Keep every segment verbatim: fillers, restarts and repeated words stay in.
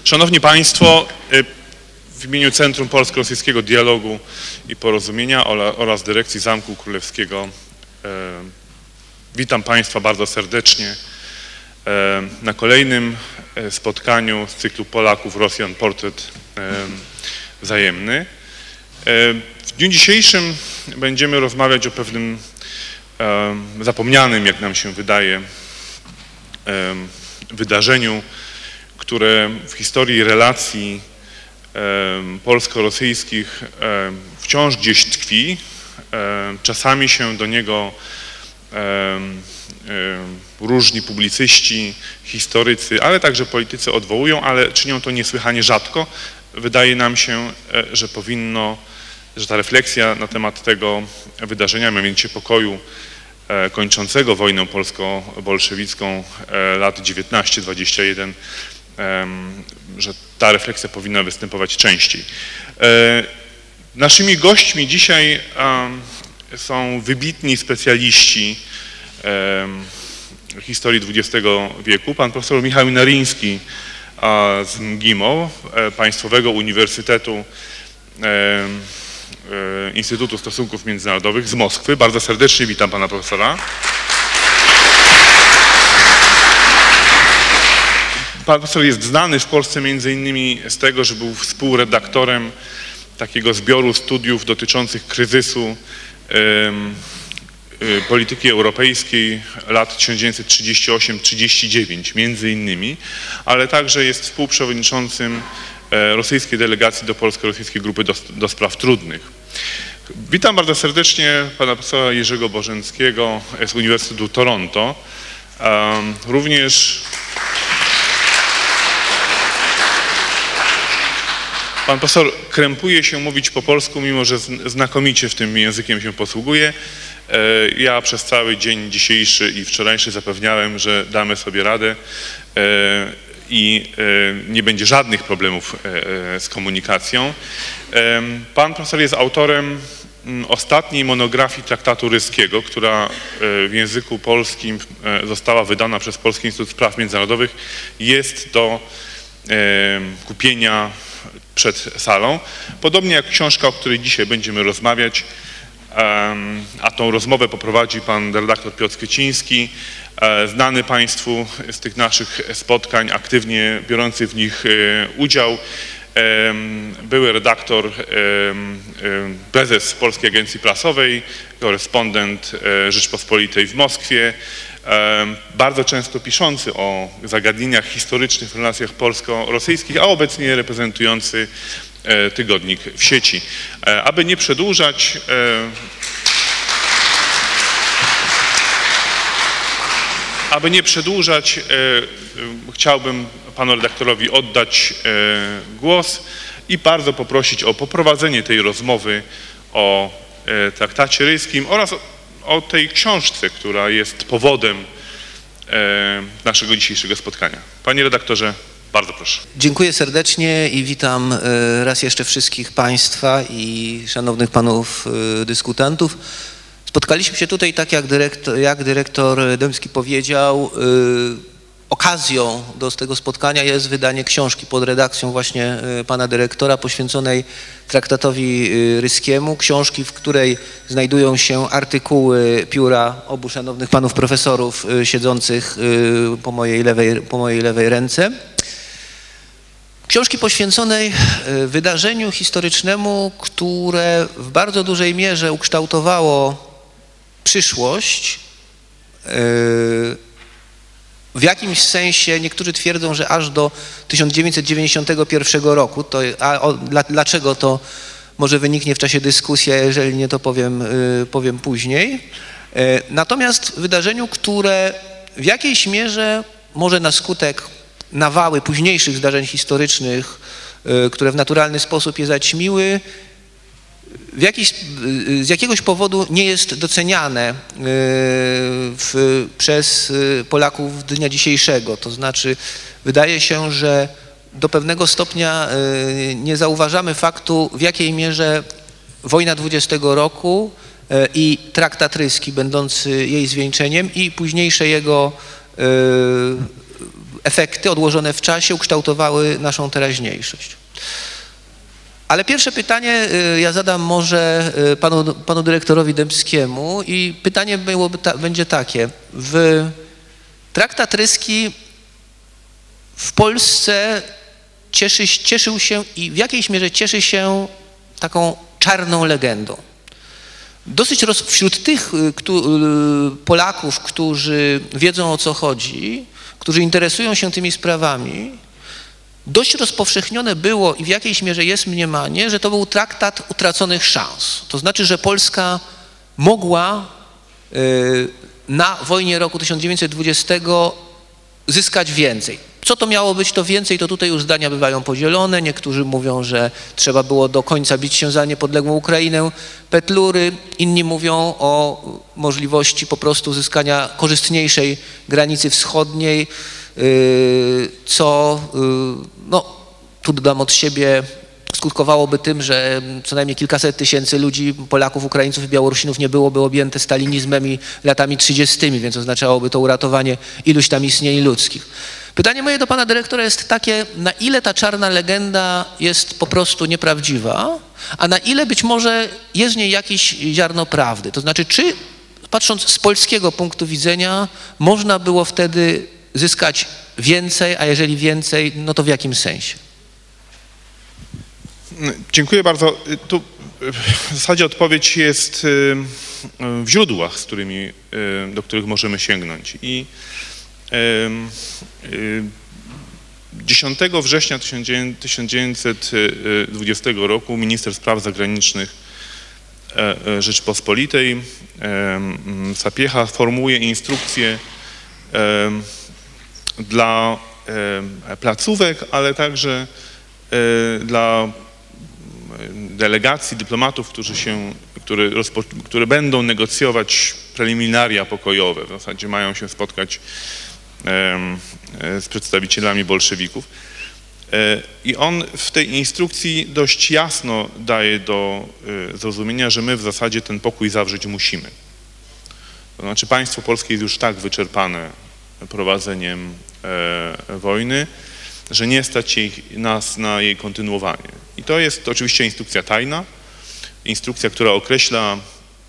Szanowni Państwo, w imieniu Centrum Polsko-Rosyjskiego Dialogu i Porozumienia oraz Dyrekcji Zamku Królewskiego witam Państwa bardzo serdecznie na kolejnym spotkaniu z cyklu Polaków Rosjan Portret Wzajemny. W dniu dzisiejszym będziemy rozmawiać o pewnym zapomnianym, jak nam się wydaje, wydarzeniu, które w historii relacji polsko-rosyjskich wciąż gdzieś tkwi. Czasami się do niego różni publicyści, historycy, ale także politycy odwołują, ale czynią to niesłychanie rzadko. Wydaje nam się, że powinno, że ta refleksja na temat tego wydarzenia, mianowicie pokoju kończącego wojnę polsko-bolszewicką lat dziewiętnaście dwadzieścia jeden, że ta refleksja powinna występować częściej. Naszymi gośćmi dzisiaj są wybitni specjaliści historii dwudziestego wieku. Pan profesor Michał Naryński z M G I M O, Państwowego Uniwersytetu Instytutu Stosunków Międzynarodowych z Moskwy. Bardzo serdecznie witam pana profesora. Pan profesor jest znany w Polsce między innymi z tego, że był współredaktorem takiego zbioru studiów dotyczących kryzysu y, y, polityki europejskiej lat tysiąc dziewięćset trzydziesty ósmy trzydzieści dziewięć między innymi, ale także jest współprzewodniczącym rosyjskiej delegacji do Polsko-Rosyjskiej Grupy do, do Spraw Trudnych. Witam bardzo serdecznie pana profesora Jerzego Bożenckiego z Uniwersytetu Toronto. Um, również pan profesor krępuje się mówić po polsku, mimo że znakomicie w tym językiem się posługuje. Ja przez cały dzień dzisiejszy i wczorajszy zapewniałem, że damy sobie radę i nie będzie żadnych problemów z komunikacją. Pan profesor jest autorem ostatniej monografii traktatu ryskiego, która w języku polskim została wydana przez Polski Instytut Spraw Międzynarodowych. Jest do kupienia przed salą. Podobnie jak książka, o której dzisiaj będziemy rozmawiać, a tą rozmowę poprowadzi pan redaktor Piotr Kwieciński, znany Państwu z tych naszych spotkań, aktywnie biorący w nich udział, były redaktor, prezes Polskiej Agencji Prasowej, korespondent Rzeczpospolitej w Moskwie, bardzo często piszący o zagadnieniach historycznych w relacjach polsko-rosyjskich, a obecnie reprezentujący tygodnik w sieci. Aby nie przedłużać, aby nie przedłużać, chciałbym panu redaktorowi oddać głos i bardzo poprosić o poprowadzenie tej rozmowy o traktacie ryskim oraz o tej książce, która jest powodem naszego dzisiejszego spotkania. Panie redaktorze, bardzo proszę. Dziękuję serdecznie i witam raz jeszcze wszystkich Państwa i szanownych panów dyskutantów. Spotkaliśmy się tutaj, tak jak dyrektor, jak dyrektor Dębski powiedział, okazją do tego spotkania jest wydanie książki pod redakcją właśnie pana dyrektora poświęconej traktatowi ryskiemu. Książki, w której znajdują się artykuły pióra obu szanownych panów profesorów siedzących po mojej lewej, po mojej lewej ręce. Książki poświęconej wydarzeniu historycznemu, które w bardzo dużej mierze ukształtowało przyszłość. W jakimś sensie niektórzy twierdzą, że aż do tysiąc dziewięćset dziewięćdziesiątego pierwszego roku. To, a o, dla, dlaczego to może wyniknie w czasie dyskusji, a jeżeli nie, to powiem, powiem później. Natomiast wydarzeniu, które w jakiejś mierze może na skutek nawały późniejszych zdarzeń historycznych, które w naturalny sposób je zaćmiły, w jakiś, z jakiegoś powodu nie jest doceniane w, przez Polaków dnia dzisiejszego. To znaczy wydaje się, że do pewnego stopnia nie zauważamy faktu, w jakiej mierze wojna dwudziestego roku i traktat ryski będący jej zwieńczeniem i późniejsze jego efekty odłożone w czasie ukształtowały naszą teraźniejszość. Ale pierwsze pytanie ja zadam może panu, panu dyrektorowi Dębskiemu i pytanie byłoby ta, będzie takie. W Traktat Ryski w Polsce cieszy, cieszył się i w jakiejś mierze cieszy się taką czarną legendą. Dosyć roz, wśród tych kto, Polaków, którzy wiedzą, o co chodzi, którzy interesują się tymi sprawami, dość rozpowszechnione było i w jakiejś mierze jest mniemanie, że to był traktat utraconych szans. To znaczy, że Polska mogła na wojnie roku tysiąc dziewięćset dwudziestego zyskać więcej. Co to miało być to więcej, to tutaj już zdania bywają podzielone. Niektórzy mówią, że trzeba było do końca bić się za niepodległą Ukrainę, Petlury. Inni mówią o możliwości po prostu uzyskania korzystniejszej granicy wschodniej, co, no, tu dodam od siebie, skutkowałoby tym, że co najmniej kilkaset tysięcy ludzi, Polaków, Ukraińców i Białorusinów nie byłoby objęte stalinizmem i latami trzydziestym, więc oznaczałoby to uratowanie iluś tam istnień ludzkich. Pytanie moje do pana dyrektora jest takie, na ile ta czarna legenda jest po prostu nieprawdziwa, a na ile być może jest w niej jakieś ziarno prawdy? To znaczy, czy patrząc z polskiego punktu widzenia można było wtedy zyskać więcej, a jeżeli więcej, no to w jakim sensie? Dziękuję bardzo. Tu w zasadzie odpowiedź jest w źródłach, z którymi, do których możemy sięgnąć. I dziesiątego września tysiąc dziewięćset dwudziestego roku minister spraw zagranicznych Rzeczypospolitej Sapiecha formułuje instrukcje dla placówek, ale także dla delegacji, dyplomatów, którzy się, które, które będą negocjować preliminaria pokojowe, w zasadzie mają się spotkać z przedstawicielami bolszewików. I on w tej instrukcji dość jasno daje do zrozumienia, że my w zasadzie ten pokój zawrzeć musimy. To znaczy państwo polskie jest już tak wyczerpane prowadzeniem wojny, że nie stać się nas na jej kontynuowanie. I to jest oczywiście instrukcja tajna, instrukcja, która określa,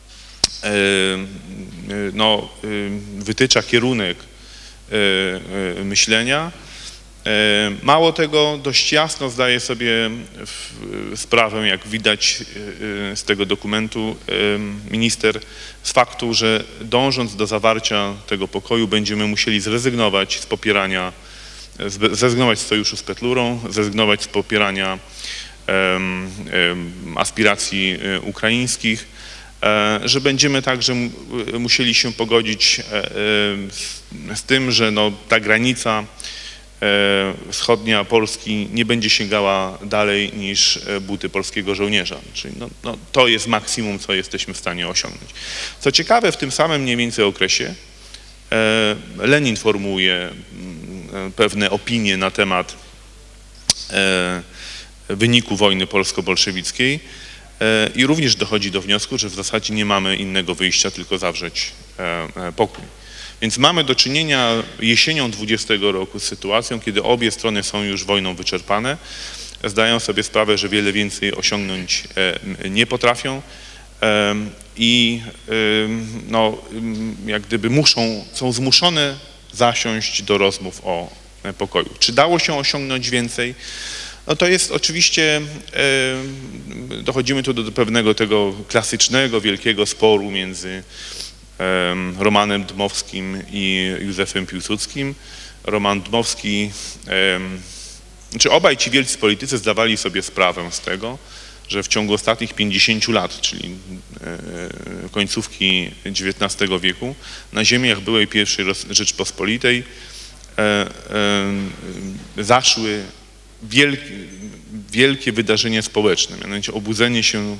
no, wytycza kierunek myślenia. Mało tego, dość jasno zdaje sobie sprawę, jak widać z tego dokumentu, minister z faktu, że dążąc do zawarcia tego pokoju będziemy musieli zrezygnować z popierania, zrezygnować z sojuszu z Petlurą, zrezygnować z popierania um, um, aspiracji ukraińskich, że będziemy także musieli się pogodzić z tym, że no, ta granica wschodnia Polski nie będzie sięgała dalej niż buty polskiego żołnierza. Czyli no, no, to jest maksimum, co jesteśmy w stanie osiągnąć. Co ciekawe, w tym samym mniej więcej okresie Lenin formułuje pewne opinie na temat wyniku wojny polsko-bolszewickiej i również dochodzi do wniosku, że w zasadzie nie mamy innego wyjścia, tylko zawrzeć pokój. Więc mamy do czynienia jesienią dwudziestego roku z sytuacją, kiedy obie strony są już wojną wyczerpane, zdają sobie sprawę, że wiele więcej osiągnąć nie potrafią i no, jak gdyby muszą, są zmuszone zasiąść do rozmów o pokoju. Czy dało się osiągnąć więcej? No to jest oczywiście, dochodzimy tu do pewnego tego klasycznego, wielkiego sporu między Romanem Dmowskim i Józefem Piłsudskim. Roman Dmowski, czy obaj ci wielcy politycy zdawali sobie sprawę z tego, że w ciągu ostatnich pięćdziesięciu lat, czyli końcówki dziewiętnastego wieku, na ziemiach byłej pierwszej Rzeczpospolitej zaszły wielkie, wielkie wydarzenia społeczne, mianowicie obudzenie się,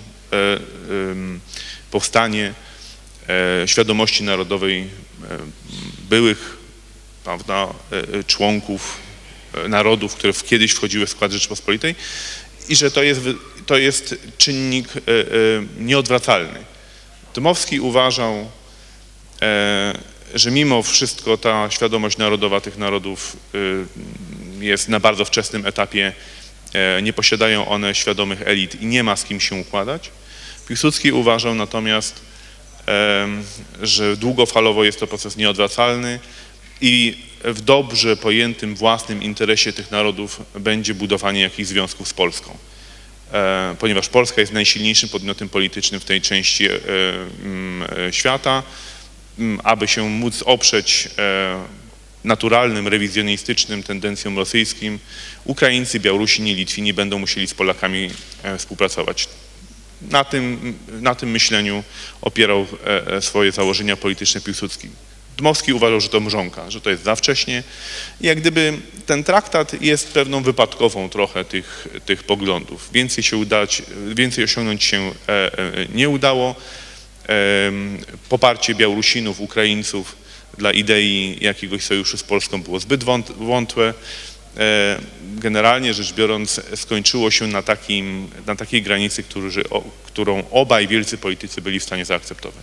powstanie świadomości narodowej byłych, prawda, członków narodów, które kiedyś wchodziły w skład Rzeczypospolitej i że to jest, to jest czynnik nieodwracalny. Dmowski uważał, że mimo wszystko ta świadomość narodowa tych narodów jest na bardzo wczesnym etapie, nie posiadają one świadomych elit i nie ma z kim się układać. Piłsudski uważał natomiast, że długofalowo jest to proces nieodwracalny i w dobrze pojętym własnym interesie tych narodów będzie budowanie jakichś związków z Polską. Ponieważ Polska jest najsilniejszym podmiotem politycznym w tej części świata, aby się móc oprzeć naturalnym, rewizjonistycznym tendencjom rosyjskim, Ukraińcy, Białorusini, Litwini będą musieli z Polakami współpracować. Na tym, na tym myśleniu opierał swoje założenia polityczne Piłsudski. Dmowski uważał, że to mrzonka, że to jest za wcześnie. I jak gdyby ten traktat jest pewną wypadkową trochę tych, tych poglądów. Więcej się udać, więcej osiągnąć się nie udało. Poparcie Białorusinów, Ukraińców dla idei jakiegoś sojuszu z Polską było zbyt wątłe. Generalnie rzecz biorąc skończyło się na, takim, na takiej granicy, którzy, którą obaj wielcy politycy byli w stanie zaakceptować.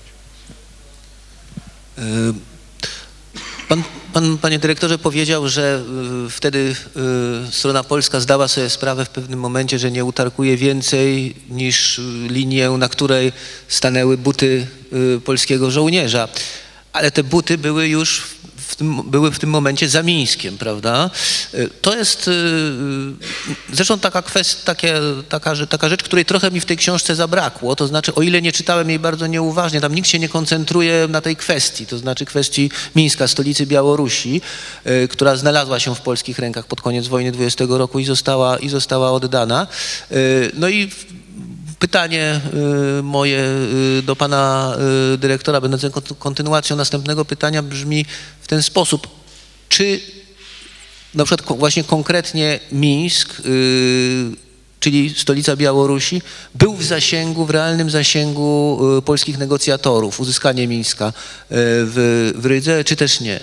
Pan, pan, panie dyrektorze, powiedział, że y, wtedy y, strona polska zdała sobie sprawę w pewnym momencie, że nie utarkuje więcej niż linię, na której stanęły buty y, polskiego żołnierza. Ale te buty były już w tym, były w tym momencie za Mińskiem, prawda? To jest zresztą taka kwestia, takie, taka, taka rzecz, której trochę mi w tej książce zabrakło, to znaczy o ile nie czytałem jej bardzo nieuważnie, tam nikt się nie koncentruje na tej kwestii, to znaczy kwestii Mińska, stolicy Białorusi, która znalazła się w polskich rękach pod koniec wojny dwudziestego roku i została, i została oddana. No i pytanie moje do pana dyrektora, będące kontynuacją następnego pytania, brzmi w ten sposób. Czy na przykład właśnie konkretnie Mińsk, czyli stolica Białorusi, był w zasięgu, w realnym zasięgu polskich negocjatorów, uzyskanie Mińska w, w Rydze, czy też nie?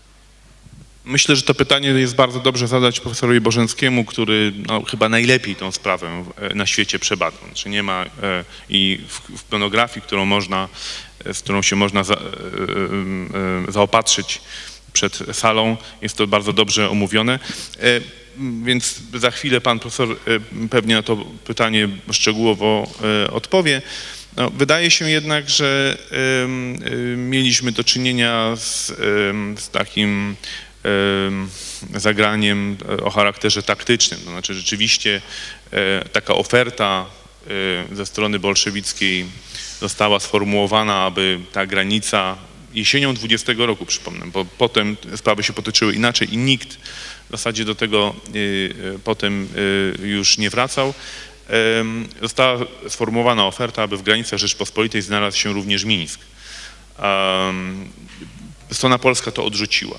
Myślę, że to pytanie jest bardzo dobrze zadać profesorowi Bożenckiemu, który no, chyba najlepiej tą sprawę na świecie przebadał. Znaczy nie ma e, i w, w monografii, którą można, z którą się można za, e, e, zaopatrzyć przed salą, jest to bardzo dobrze omówione. E, więc za chwilę pan profesor e, pewnie na to pytanie szczegółowo e, odpowie. No, wydaje się jednak, że e, e, mieliśmy do czynienia z, e, z takim zagraniem o charakterze taktycznym. To znaczy rzeczywiście taka oferta ze strony bolszewickiej została sformułowana, aby ta granica jesienią dwudziestego roku, przypomnę, bo potem sprawy się potoczyły inaczej i nikt w zasadzie do tego potem już nie wracał. Została sformułowana oferta, aby w granicach Rzeczpospolitej znalazł się również Mińsk. Strona polska to odrzuciła.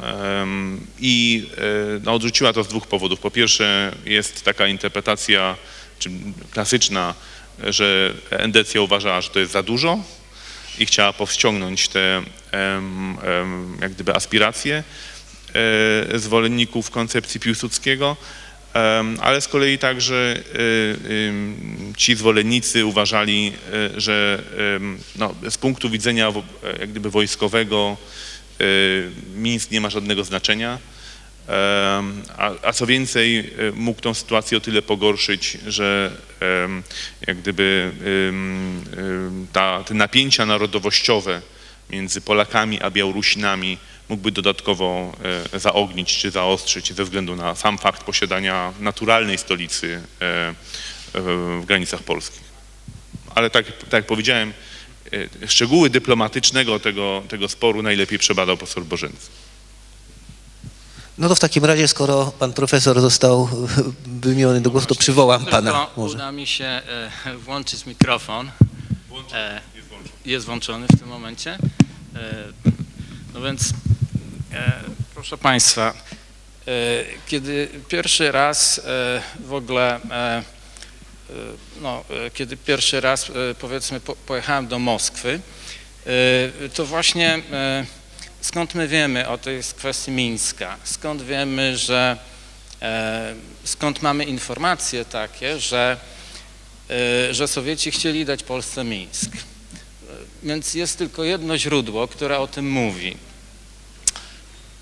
I no, odrzuciła to z dwóch powodów. Po pierwsze jest taka interpretacja czy klasyczna, że Endecja uważała, że to jest za dużo i chciała powściągnąć te jak gdyby aspiracje zwolenników koncepcji Piłsudskiego, ale z kolei także ci zwolennicy uważali, że no, z punktu widzenia jak gdyby wojskowego Mińsk nie ma żadnego znaczenia, a, a co więcej mógł tą sytuację o tyle pogorszyć, że jak gdyby ta, te napięcia narodowościowe między Polakami a Białorusinami mógłby dodatkowo zaognić czy zaostrzyć ze względu na sam fakt posiadania naturalnej stolicy w granicach polskich. Ale tak, tak jak powiedziałem, szczegóły dyplomatycznego tego, tego sporu najlepiej przebadał profesor Bożencki. No to w takim razie, skoro pan profesor został wymieniony do głosu, to przywołam pana. Może. Uda mi się e, włączyć mikrofon. E, jest włączony w tym momencie. E, no więc, e, proszę państwa, e, kiedy pierwszy raz e, w ogóle e, No, kiedy pierwszy raz, powiedzmy, pojechałem do Moskwy, to właśnie skąd my wiemy o tej kwestii Mińska? Skąd wiemy, że, skąd mamy informacje takie, że, że Sowieci chcieli dać Polsce Mińsk? Więc jest tylko jedno źródło, które o tym mówi.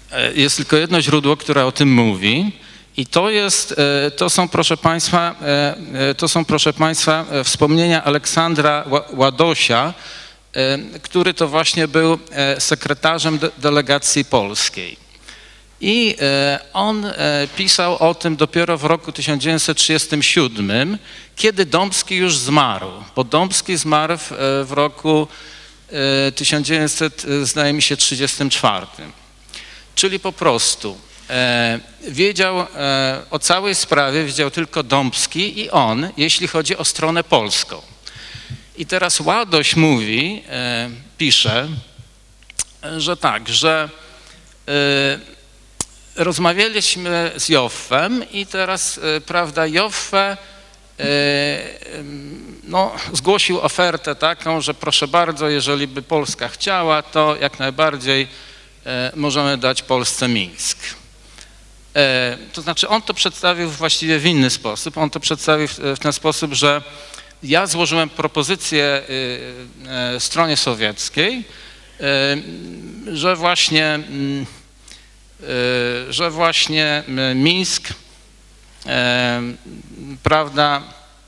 jest tylko jedno źródło, które o tym mówi i to jest, to są proszę Państwa, to są proszę Państwa wspomnienia Aleksandra Ładosia, który to właśnie był sekretarzem de- delegacji polskiej. I on pisał o tym dopiero w roku tysiąc dziewięćset trzydziestym siódmym, kiedy Dąbski już zmarł, bo Dąbski zmarł w, w roku tysiąc dziewięćset, zdaje mi się, trzydziestym czwartym. Czyli po prostu e, wiedział e, o całej sprawie, wiedział tylko Dąbski i on, jeśli chodzi o stronę polską. I teraz Ładoś mówi, e, pisze, że tak, że e, rozmawialiśmy z Joffem i teraz, e, prawda, Joffe e, no, zgłosił ofertę taką, że proszę bardzo, jeżeli by Polska chciała, to jak najbardziej e, możemy dać Polsce Mińsk. E, to znaczy on to przedstawił właściwie w inny sposób. On to przedstawił w, w ten sposób, że ja złożyłem propozycję y, y, stronie sowieckiej, y, że właśnie, y, że właśnie Mińsk, y, prawda,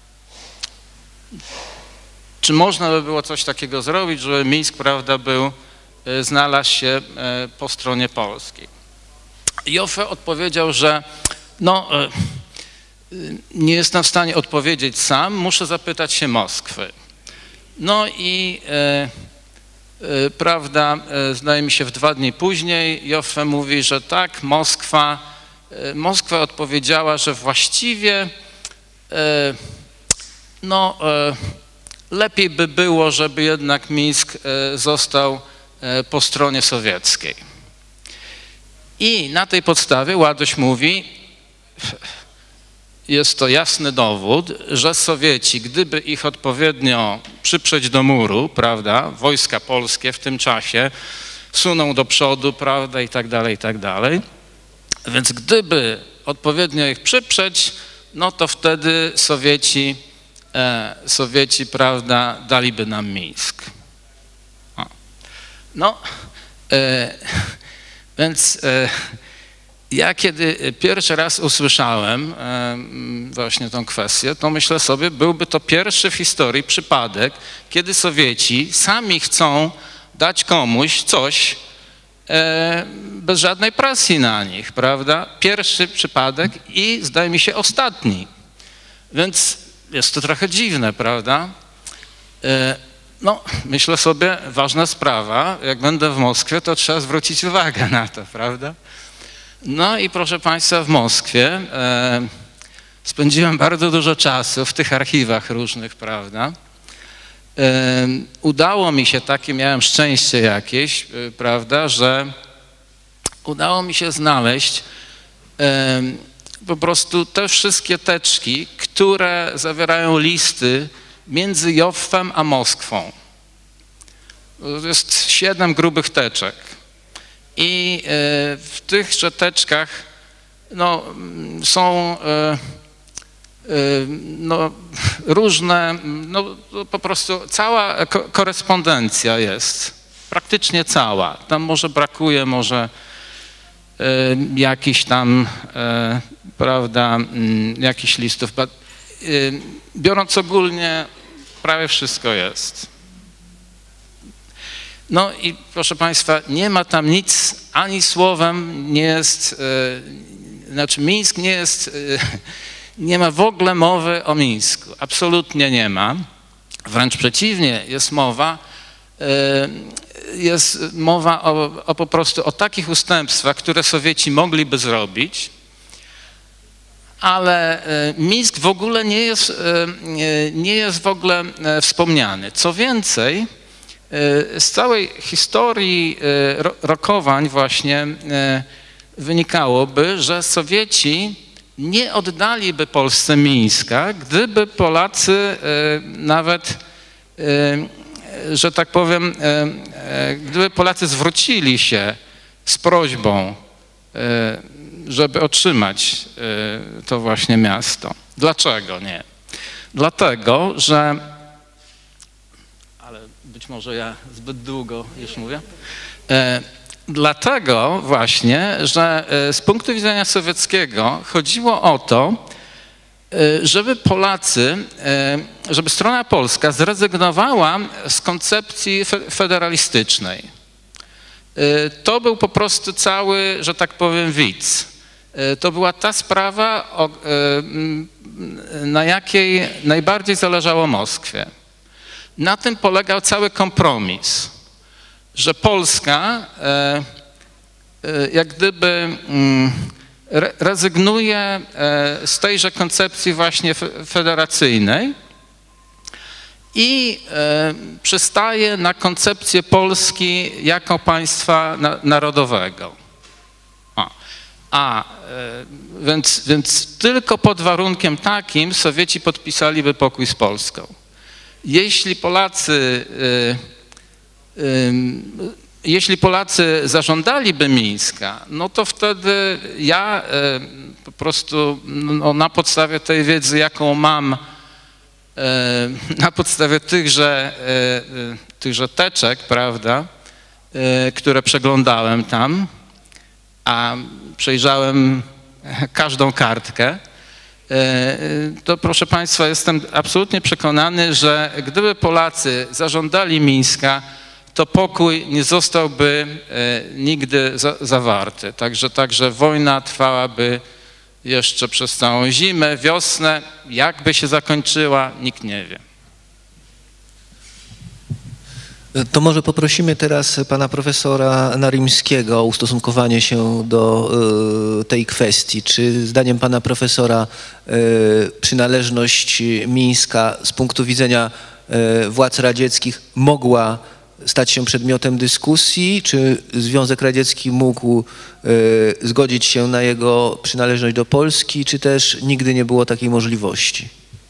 czy można by było coś takiego zrobić, żeby Mińsk, prawda, był, y, znalazł się y, po stronie polskiej. Joffe odpowiedział, że no, y, nie jestem w stanie odpowiedzieć sam, muszę zapytać się Moskwy. No i e, e, prawda, e, zdaje mi się w dwa dni później Joffe mówi, że tak, Moskwa, e, Moskwa odpowiedziała, że właściwie e, no, e, lepiej by było, żeby jednak Mińsk e, został e, po stronie sowieckiej. I na tej podstawie Ładoś mówi, jest to jasny dowód, że Sowieci, gdyby ich odpowiednio przyprzeć do muru, prawda, wojska polskie w tym czasie suną do przodu, prawda, i tak dalej, i tak dalej. Więc gdyby odpowiednio ich przyprzeć, no to wtedy Sowieci, e, Sowieci, prawda, daliby nam Mińsk. O. No, e, więc... E, Ja kiedy pierwszy raz usłyszałem właśnie tą kwestię, to myślę sobie, byłby to pierwszy w historii przypadek, kiedy Sowieci sami chcą dać komuś coś bez żadnej presji na nich, prawda? Pierwszy przypadek i zdaje mi się ostatni. Więc jest to trochę dziwne, prawda? No, myślę sobie, ważna sprawa, jak będę w Moskwie, to trzeba zwrócić uwagę na to, prawda? No i proszę Państwa, w Moskwie e, spędziłem bardzo dużo czasu w tych archiwach różnych, prawda. E, udało mi się, takie miałem szczęście jakieś, e, prawda, że udało mi się znaleźć e, po prostu te wszystkie teczki, które zawierają listy między Joffem a Moskwą. To jest siedem grubych teczek. I w tychże teczkach no, są no, różne, no, po prostu cała korespondencja jest, praktycznie cała. Tam może brakuje może jakichś tam, prawda, jakichś listów. Biorąc ogólnie, prawie wszystko jest. No i proszę Państwa, nie ma tam nic, ani słowem nie jest, e, znaczy Mińsk nie jest, e, nie ma w ogóle mowy o Mińsku, absolutnie nie ma. Wręcz przeciwnie, jest mowa, e, jest mowa o, o po prostu o takich ustępstwach, które Sowieci mogliby zrobić, ale e, Mińsk w ogóle nie jest, e, nie jest w ogóle e, wspomniany. Co więcej, z całej historii rokowań właśnie wynikałoby, że Sowieci nie oddaliby Polsce Mińska, gdyby Polacy nawet, że tak powiem, gdyby Polacy zwrócili się z prośbą, żeby otrzymać to właśnie miasto. Dlaczego nie? Dlatego, że być może ja zbyt długo już mówię. dlatego właśnie, że z punktu widzenia sowieckiego chodziło o to, żeby Polacy, żeby strona polska zrezygnowała z koncepcji federalistycznej. To był po prostu cały, że tak powiem, widz. To była ta sprawa, na jakiej najbardziej zależało Moskwie. Na tym polegał cały kompromis, że Polska jak gdyby rezygnuje z tejże koncepcji właśnie federacyjnej i przystaje na koncepcję Polski jako państwa narodowego. A, a więc, więc tylko pod warunkiem takim Sowieci podpisaliby pokój z Polską. Jeśli Polacy, jeśli Polacy zażądaliby Mińska, no to wtedy ja po prostu no, na podstawie tej wiedzy, jaką mam, na podstawie tychże, tychże teczek, prawda, które przeglądałem tam, a przejrzałem każdą kartkę, to proszę Państwa, jestem absolutnie przekonany, że gdyby Polacy zażądali Mińska, to pokój nie zostałby nigdy za, zawarty. Także, także wojna trwałaby jeszcze przez całą zimę, wiosnę. Jak by się zakończyła, nikt nie wie. To może poprosimy teraz pana profesora Narimskiego o ustosunkowanie się do y, tej kwestii. Czy zdaniem pana profesora y, przynależność Mińska z punktu widzenia y, władz radzieckich mogła stać się przedmiotem dyskusji? Czy Związek Radziecki mógł y, zgodzić się na jego przynależność do Polski, czy też nigdy nie było takiej możliwości?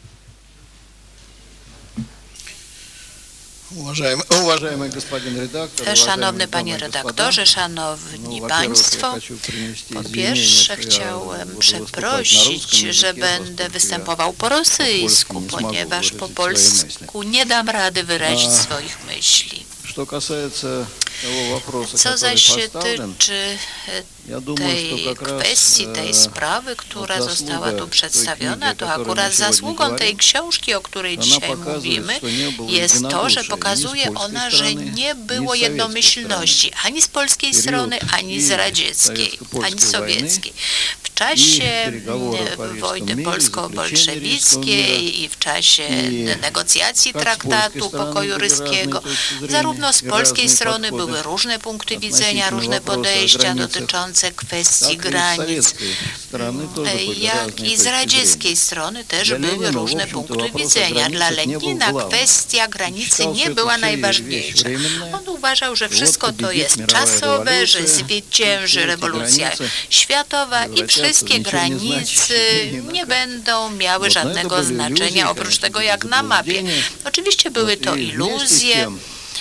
Уважаемый, уважаемый господин редактор, Szanowny panie redaktorze, szanowni państwo, po pierwsze chciałem przeprosić, że będę występował po rosyjsku, ponieważ po polsku nie dam rady wyrazić swoich myśli. Co zaś się tyczy tej kwestii, tej sprawy, która została tu przedstawiona, to akurat zasługą tej książki, o której dzisiaj mówimy, jest to, że pokazuje ona, że nie było jednomyślności ani z polskiej strony, ani z radzieckiej, ani sowieckiej. W czasie wojny polsko-bolszewickiej i w czasie negocjacji traktatu pokoju ryskiego, zarówno z polskiej strony były różne punkty widzenia, różne podejścia dotyczące kwestii granic, jak i z radzieckiej strony też były różne punkty widzenia. Dla Lenina kwestia granicy nie była najważniejsza. On uważał, że wszystko to jest czasowe, że zwycięży rewolucja światowa i wszystkie granice nie będą miały żadnego znaczenia, oprócz tego jak na mapie. Oczywiście były to iluzje,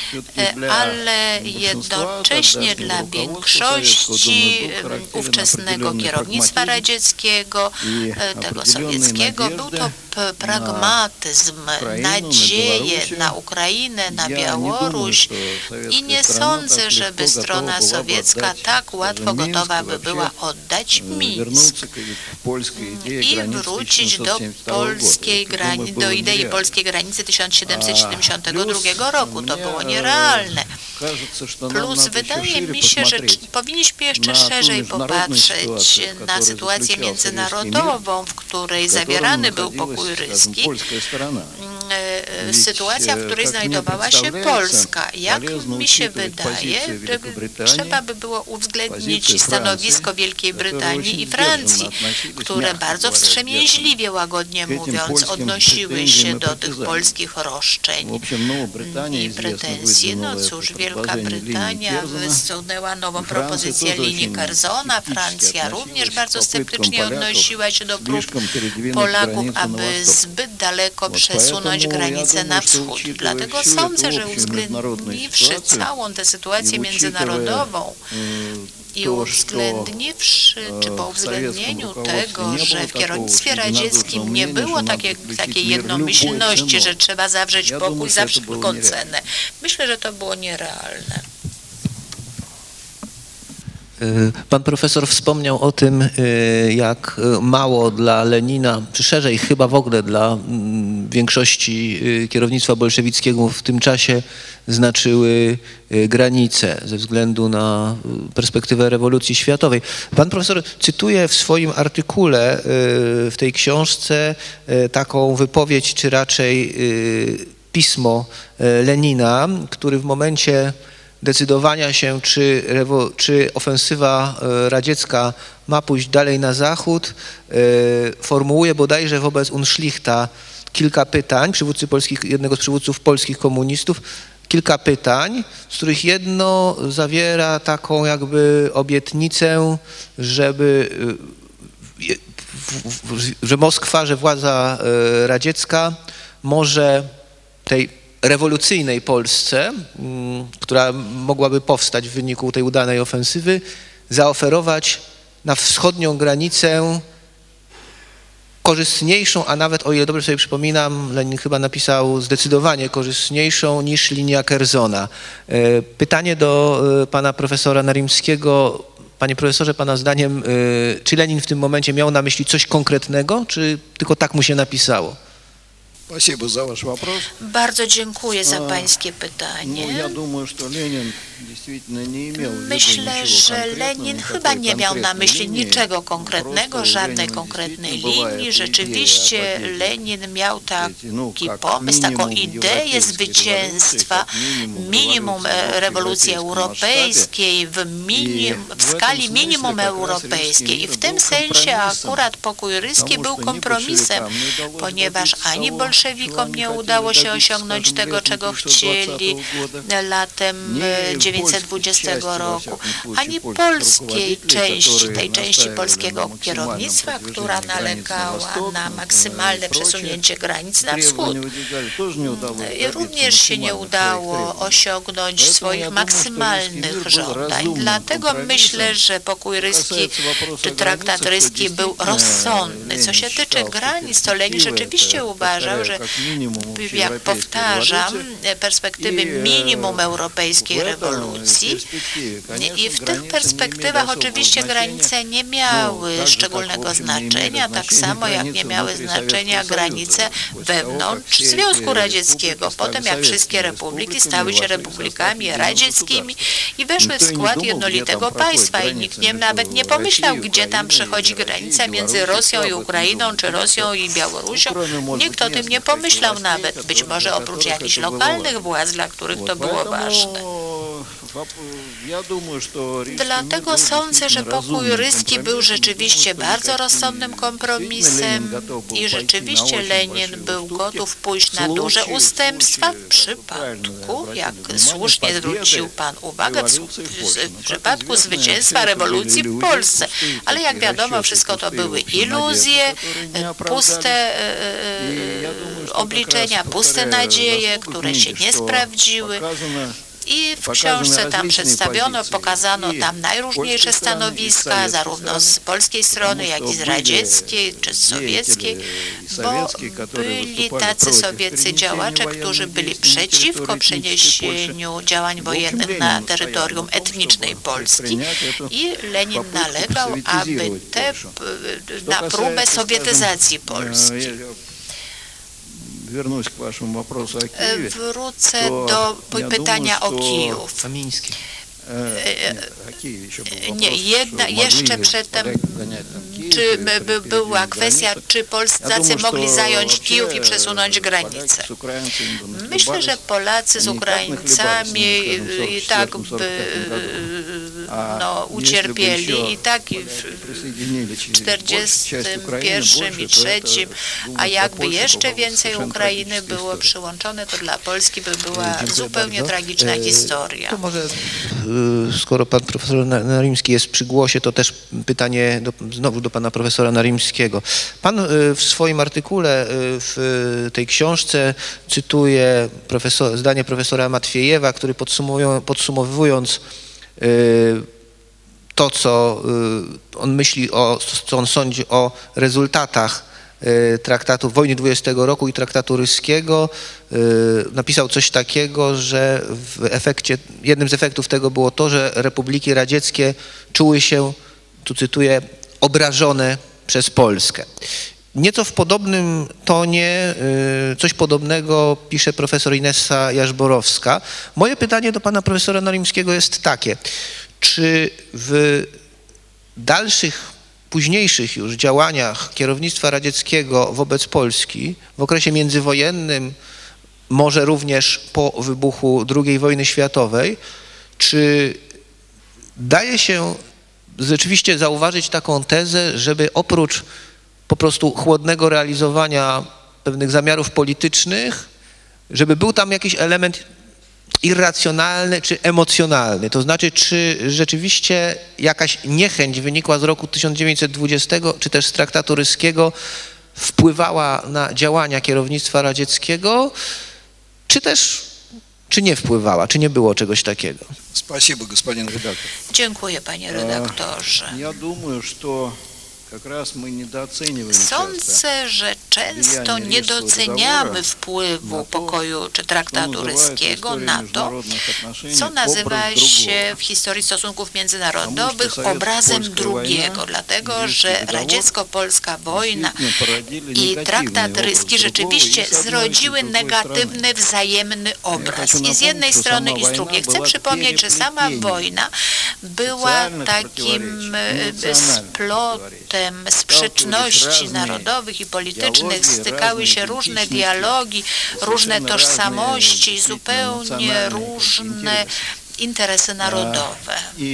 ale jednocześnie dla większości ówczesnego kierownictwa radzieckiego, tego sowieckiego, był to pragmatyzm, nadzieje na Ukrainę, na Białoruś i nie sądzę, żeby strona sowiecka tak łatwo gotowa by była oddać Mińsk i wrócić do polskiej granicy, do idei polskiej granicy tysiąc siedemset siedemdziesiątego drugiego roku. To było nierealne. Plus wydaje mi się, że powinniśmy jeszcze szerzej popatrzeć na sytuację międzynarodową, w której zawierany był pokój ryski, sytuacja, w której znajdowała się Polska. Jak mi się wydaje, trzeba by było uwzględnić stanowisko Wielkiej Brytanii i Francji, które bardzo wstrzemięźliwie, łagodnie mówiąc, odnosiły się do tych polskich roszczeń i pretensji. No cóż, Wielka Brytania wysunęła nową propozycję linii Curzona, Francja również bardzo sceptycznie odnosiła się do prób Polaków, aby zbyt daleko przesunąć granicę na wschód. Dlatego sądzę, że uwzględniwszy całą tę sytuację międzynarodową i uwzględniwszy, czy po uwzględnieniu tego, że w kierownictwie radzieckim nie było takiej, takiej jednomyślności, że trzeba zawrzeć pokój za wszelką cenę, myślę, że to było nierealne. Pan profesor wspomniał o tym, jak mało dla Lenina, czy szerzej chyba w ogóle dla większości kierownictwa bolszewickiego w tym czasie znaczyły granice ze względu na perspektywę rewolucji światowej. Pan profesor cytuje w swoim artykule w tej książce taką wypowiedź, czy raczej pismo Lenina, który w momencie decydowania się, czy, rewo, czy ofensywa radziecka ma pójść dalej na zachód, formułuje bodajże wobec Unschlichta kilka pytań, przywódcy polskich, jednego z przywódców polskich komunistów, kilka pytań, z których jedno zawiera taką jakby obietnicę, żeby, że Moskwa, że władza radziecka może tej rewolucyjnej Polsce, która mogłaby powstać w wyniku tej udanej ofensywy, zaoferować na wschodnią granicę korzystniejszą, a nawet, o ile dobrze sobie przypominam, Lenin chyba napisał zdecydowanie korzystniejszą niż linia Kerzona. Pytanie do pana profesora Narimskiego. Panie profesorze, pana zdaniem, czy Lenin w tym momencie miał na myśli coś konkretnego, czy tylko tak mu się napisało? Спасибо за ваш вопрос. Bardzo dziękuję za pańskie pytanie. Ну, я думаю, что Ленин действительно не имел в виду Myślę, ничего że конкретного, Lenin никакой chyba nie miał na конкретной myśli линии. niczego konkretnego, Просто у żadnej Ленина konkretnej действительно бывает linii. идея Rzeczywiście победы. Lenin miał Эти, ну, taki как pomysł, taką минимум ideę европейской zwycięstwa, революции, minimum как rewolucji европейском europejskiej, w, minim, I w w skali tym minimum sensie как раз europejskiej. I w Римский tym мир был sensie компромиссом, akurat pokój ryski потому był что ни kompromisem, большевикам не удалось ponieważ добиться ani того, bolszewikom чего nie они udało хотели się добиться, osiągnąć скажем, tego, летом czego тысяча девятьсот chcieli двадцатого года, latem nie dziewięćset dwudziestego w roku, polskiej, во всяком ani случае, polskiej polskich części, rukovoditelji, tej которые części nastawiali polskiego na kierownictwa, maksymalnym która podwyższeniu granic na nalegała wschód, na maksymalne i prочее. przesunięcie granic na wschód. Требования выдвигали, тоже не удалось I добиться również się nie максимальных udało своих требований. osiągnąć Powiedzmy, ja swoich думаю, что maksymalnych Римский мир был żądań. разумным Dlatego компромиссом. myślę, że pokój ryski Касается вопроса czy о traktat границах, то ryski był действительно rozsądny. Co Ленин się tyczy считал, что granic, to Lenin перспективы rzeczywiście это, uważał, повторяю, że как минимум jak общеевропейская powtarzam, революция. perspektywy I, minimum europejskiej w rewolucji. I w tych perspektywach oczywiście granice nie miały szczególnego znaczenia, tak samo jak nie miały znaczenia granice wewnątrz Związku Radzieckiego. Potem jak wszystkie republiki stały się republikami radzieckimi i weszły w skład jednolitego państwa i nikt nie, nawet nie pomyślał, gdzie tam przechodzi granica między Rosją i Ukrainą, czy Rosją i Białorusią. Nikt o tym nie pomyślał nawet, być może oprócz jakichś lokalnych władz, dla których to było ważne. Dlatego sądzę, że pokój ryski był rzeczywiście bardzo rozsądnym kompromisem i rzeczywiście Lenin był gotów pójść na duże ustępstwa w przypadku, jak słusznie zwrócił Pan uwagę, w, w przypadku zwycięstwa rewolucji w Polsce. Ale jak wiadomo, wszystko to były iluzje, puste e, obliczenia, puste nadzieje, które się nie sprawdziły. I w książce tam przedstawiono, pokazano tam najróżniejsze stanowiska, zarówno z polskiej strony, jak i z radzieckiej czy z sowieckiej, bo byli tacy sowieccy działacze, którzy byli przeciwko przeniesieniu działań wojennych na terytorium etnicznej Polski i Lenin nalegał, aby te, na próbę sowietyzacji Polski. Wrócę do pytania o Kijów. Nie, jedna, jeszcze przedtem, czy by, była kwestia, czy Polacy mogli zająć Kijów i przesunąć granicę. Myślę, że Polacy z Ukraińcami i tak by no, ucierpieli i tak w czterdziestym pierwszym i trzecim, a jakby jeszcze więcej Ukrainy było przyłączone, to dla Polski by była zupełnie tragiczna historia. To może, skoro pan profesor Narimski jest przy głosie, to też pytanie do, znowu do pana profesora Narimskiego. Pan w swoim artykule w tej książce cytuje profesor, zdanie profesora Matwiejewa, który podsumowując to, co on myśli, o, co on sądzi o rezultatach traktatu wojny dwudziestego roku i traktatu ryskiego. Napisał coś takiego, że w efekcie, jednym z efektów tego było to, że republiki radzieckie czuły się, tu cytuję, obrażone przez Polskę. Nieco w podobnym tonie, coś podobnego pisze profesor Inessa Jarzborowska. Moje pytanie do pana profesora Narimskiego jest takie. Czy w dalszych, późniejszych już działaniach kierownictwa radzieckiego wobec Polski w okresie międzywojennym, może również po wybuchu drugiej wojny światowej, czy daje się rzeczywiście zauważyć taką tezę, żeby oprócz po prostu chłodnego realizowania pewnych zamiarów politycznych, żeby był tam jakiś element irracjonalny czy emocjonalny? To znaczy, czy rzeczywiście jakaś niechęć wynikła z roku tysiąc dziewięćset dwudziestego, czy też z traktatu ryskiego, wpływała na działania kierownictwa radzieckiego, czy też, czy nie wpływała, czy nie było czegoś takiego? Спасибо, господин редактор. Dziękuję, panie redaktorze. Я думаю, что как раз мы недооцениваем Sądzę, że często nie doceniamy wpływu pokoju czy traktatu ryskiego na to, co nazywa się w historii stosunków międzynarodowych obrazem drugiego, dlatego że radziecko-polska wojna i traktat ryski rzeczywiście zrodziły negatywny, wzajemny obraz. I z jednej strony, i z drugiej. Chcę przypomnieć, że sama wojna była takim splotem sprzeczności narodowych i politycznych, stykały się różne dialogi, różne tożsamości, zupełnie różne interesy narodowe.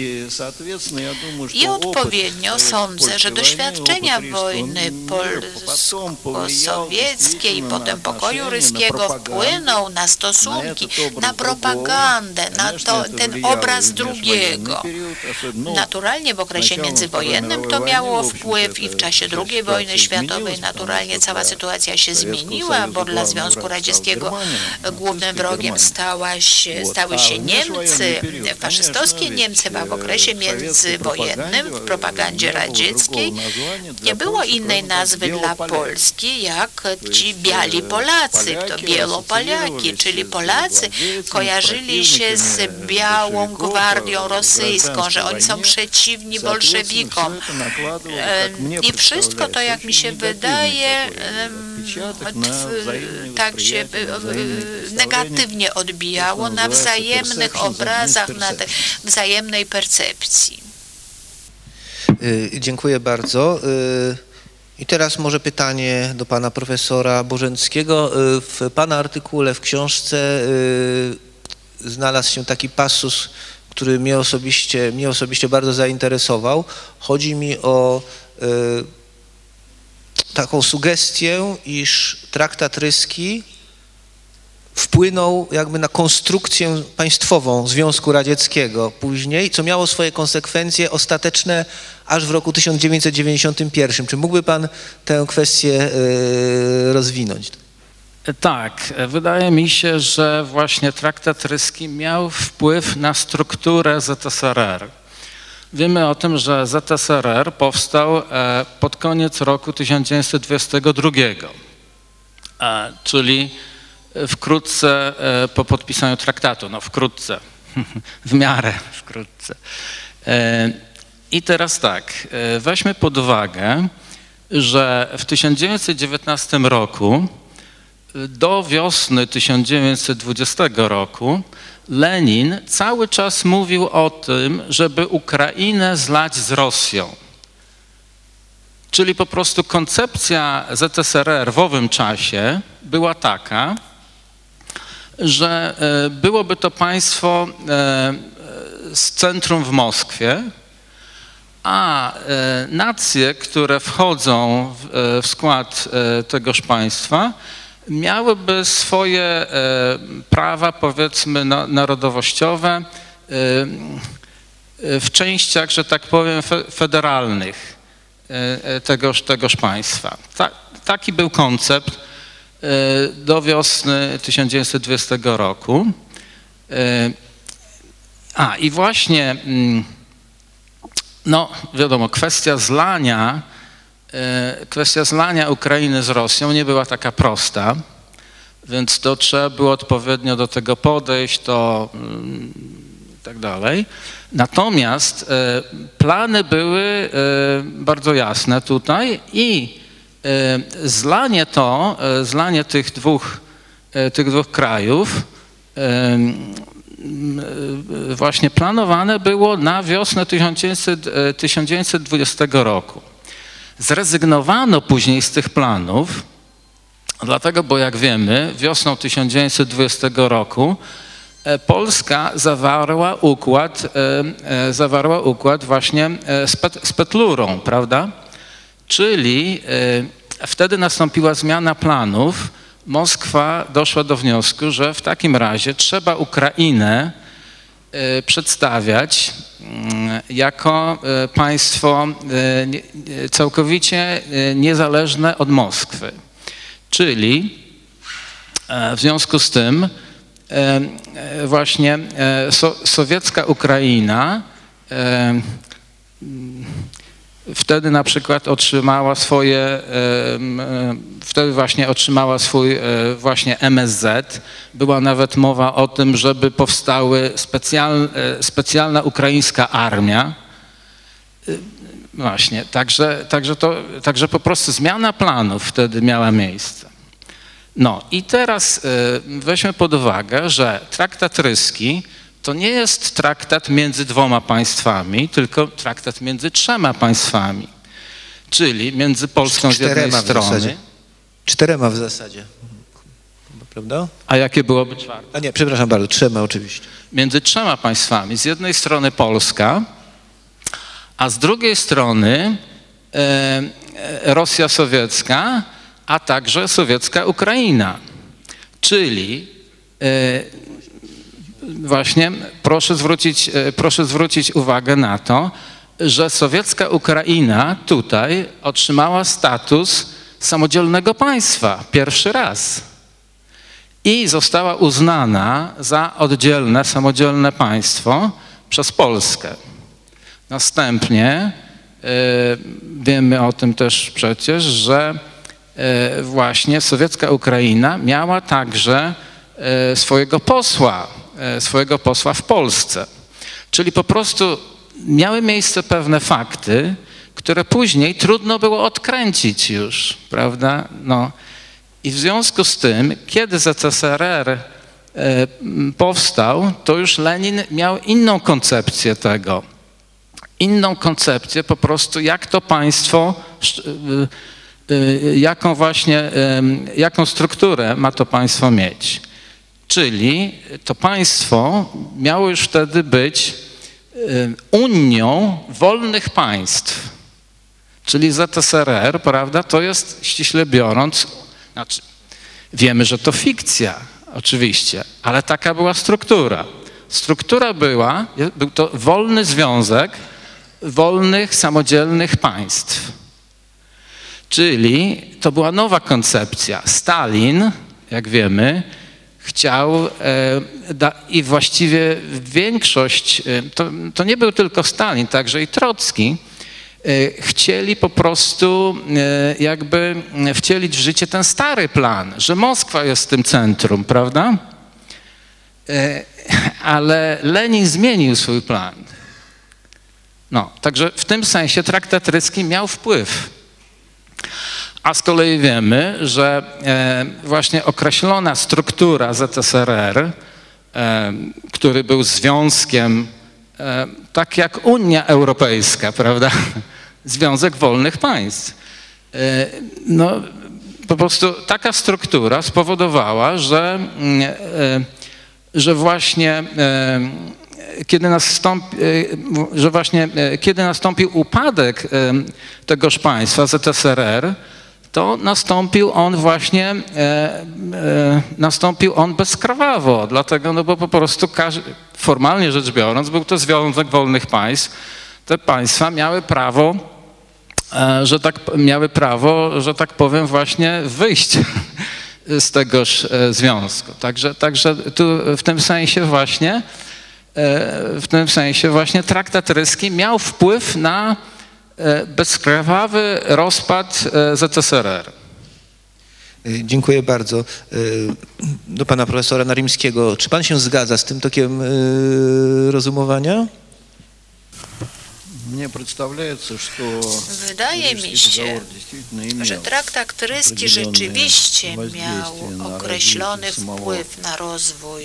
I odpowiednio sądzę, że doświadczenia wojny polsko-sowieckiej i potem pokoju ryskiego wpłyną na stosunki, na propagandę, na to, ten obraz drugiego. Naturalnie w okresie międzywojennym to miało wpływ i w czasie drugiej wojny światowej naturalnie cała sytuacja się zmieniła, bo dla Związku Radzieckiego głównym wrogiem stała się, stały się Niemcy, faszystowskie Niemcy, a w okresie międzywojennym w propagandzie radzieckiej nie było innej nazwy dla Polski jak ci biali Polacy, to Bielopolaki, czyli Polacy kojarzyli się z białą gwardią rosyjską, że oni są przeciwni bolszewikom. I wszystko to, jak mi się wydaje, tak się negatywnie odbijało na wzajemnych obrazach, na tej wzajemnej percepcji. Dziękuję bardzo. I teraz może pytanie do pana profesora Bożenckiego. W pana artykule, w książce znalazł się taki passus, który mnie osobiście, mnie osobiście bardzo zainteresował. Chodzi mi o taką sugestię, iż traktat ryski wpłynął jakby na konstrukcję państwową Związku Radzieckiego później, co miało swoje konsekwencje ostateczne aż w roku tysiąc dziewięćset dziewięćdziesiątym pierwszym. Czy mógłby pan tę kwestię rozwinąć? Tak, wydaje mi się, że właśnie traktat ryski miał wpływ na strukturę Z S R R. Wiemy o tym, że Z S R R powstał pod koniec roku tysiąc dziewięćset dwudziestego drugiego, czyli wkrótce po podpisaniu traktatu, no wkrótce, w miarę wkrótce. I teraz tak, weźmy pod uwagę, że w tysiąc dziewięćset dziewiętnastym roku do wiosny tysiąc dziewięćset dwudziestego roku Lenin cały czas mówił o tym, żeby Ukrainę zlać z Rosją. Czyli po prostu koncepcja Z S R R w owym czasie była taka, że byłoby to państwo z centrum w Moskwie, a nacje, które wchodzą w skład tegoż państwa, miałyby swoje prawa, powiedzmy, narodowościowe w częściach, że tak powiem, federalnych tegoż, tegoż państwa. Ta, taki był koncept do wiosny tysiąc dziewięćset dwudziestego roku. A i właśnie, no wiadomo, kwestia zlania kwestia zlania Ukrainy z Rosją nie była taka prosta, więc to trzeba było odpowiednio do tego podejść, to i tak dalej. Natomiast plany były bardzo jasne tutaj i zlanie to, zlanie tych dwóch, tych dwóch krajów właśnie planowane było na wiosnę tysiąc dziewięćset dwudziestego roku. Zrezygnowano później z tych planów, dlatego, bo jak wiemy, wiosną tysiąc dziewięćset dwudziestego roku Polska zawarła układ, zawarła układ właśnie z, Pet, z Petlurą, prawda? Czyli wtedy nastąpiła zmiana planów. Moskwa doszła do wniosku, że w takim razie trzeba Ukrainę przedstawiać jako państwo całkowicie niezależne od Moskwy. Czyli w związku z tym właśnie so, sowiecka Ukraina wtedy na przykład otrzymała swoje, wtedy właśnie otrzymała swój właśnie M S Z. Była nawet mowa o tym, żeby powstały specjal, specjalna ukraińska armia. Właśnie, także, także, to, także po prostu zmiana planów wtedy miała miejsce. No i teraz weźmy pod uwagę, że traktat ryski to nie jest traktat między dwoma państwami, tylko traktat między trzema państwami, czyli między Polską z jednej strony. Czterema w zasadzie, prawda? A jakie byłoby czwarte? A nie, przepraszam bardzo, trzema oczywiście. Między trzema państwami. Z jednej strony Polska, a z drugiej strony e, Rosja sowiecka, a także sowiecka Ukraina. Czyli e, właśnie proszę zwrócić, proszę zwrócić uwagę na to, że sowiecka Ukraina tutaj otrzymała status samodzielnego państwa pierwszy raz i została uznana za oddzielne, samodzielne państwo przez Polskę. Następnie y, wiemy o tym też przecież, że y, właśnie sowiecka Ukraina miała także y, swojego posła, swojego posła w Polsce. Czyli po prostu miały miejsce pewne fakty, które później trudno było odkręcić już, prawda? No. I w związku z tym, kiedy Z S R R powstał, to już Lenin miał inną koncepcję tego. Inną koncepcję po prostu, jak to państwo, jaką właśnie, jaką strukturę ma to państwo mieć. Czyli to państwo miało już wtedy być Unią Wolnych Państw. Czyli Z S R R, prawda, to jest ściśle biorąc, znaczy wiemy, że to fikcja oczywiście, ale taka była struktura. Struktura była, był to wolny związek wolnych, samodzielnych państw. Czyli to była nowa koncepcja. Stalin, jak wiemy, chciał e, da, i właściwie większość, e, to, to nie był tylko Stalin, także i Trocki, e, chcieli po prostu e, jakby wcielić w życie ten stary plan, że Moskwa jest tym centrum, prawda? E, ale Lenin zmienił swój plan. No, także w tym sensie traktat ryski miał wpływ. A z kolei wiemy, że e, właśnie określona struktura Z S R R, e, który był związkiem, e, tak jak Unia Europejska, prawda? Związek Wolnych Państw. E, no, po prostu taka struktura spowodowała, że, e, że właśnie e, kiedy nastąpi, że właśnie kiedy nastąpił upadek tegoż państwa Z S R R, to nastąpił on właśnie, e, e, nastąpił on bezkrwawo, dlatego, no bo po prostu każdy, formalnie rzecz biorąc, był to Związek Wolnych Państw. Te państwa miały prawo, e, że tak, miały prawo, że tak powiem, właśnie wyjść z tegoż e, związku. Także, także tu w tym sensie właśnie, e, w tym sensie właśnie traktat ryski miał wpływ na bezkrwawy rozpad Z S R R. Dziękuję bardzo. Do pana profesora Narimskiego. Czy pan się zgadza z tym tokiem rozumowania? Мне представляется, что Wydaje mi się, że traktat ryski rzeczywiście miał określony wpływ na rozwój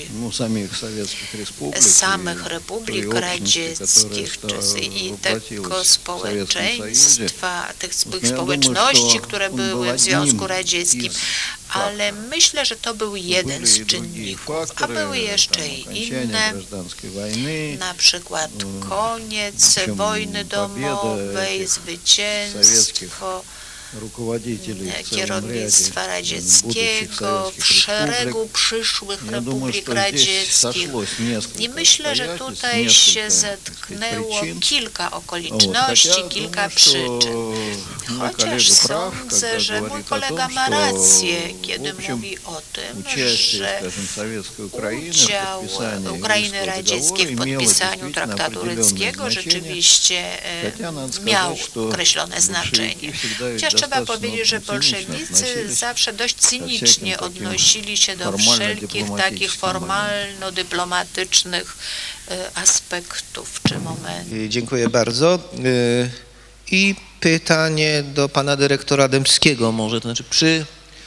samych republik radzieckich i tego społeczeństwa, tych społeczności, które były w Związku Radzieckim. Ale myślę, że to był jeden z czynników, a były jeszcze i inne, na przykład koniec wojny domowej, zwycięstwo kierownictwa radzieckiego w szeregu przyszłych republik radzieckich. I myślę, że tutaj się zetknęło kilka okoliczności, kilka przyczyn. Chociaż sądzę, że mój kolega ma rację, kiedy mówi o tym, że udział Ukrainy Radzieckiej w podpisaniu traktatu ryckiego rzeczywiście miał określone znaczenie. Chociaż trzeba powiedzieć, że bolszewicy zawsze dość cynicznie odnosili się do wszelkich takich formalno-dyplomatycznych aspektów czy momentów. Dziękuję bardzo. I pytanie do pana dyrektora Dębskiego może, to znaczy przy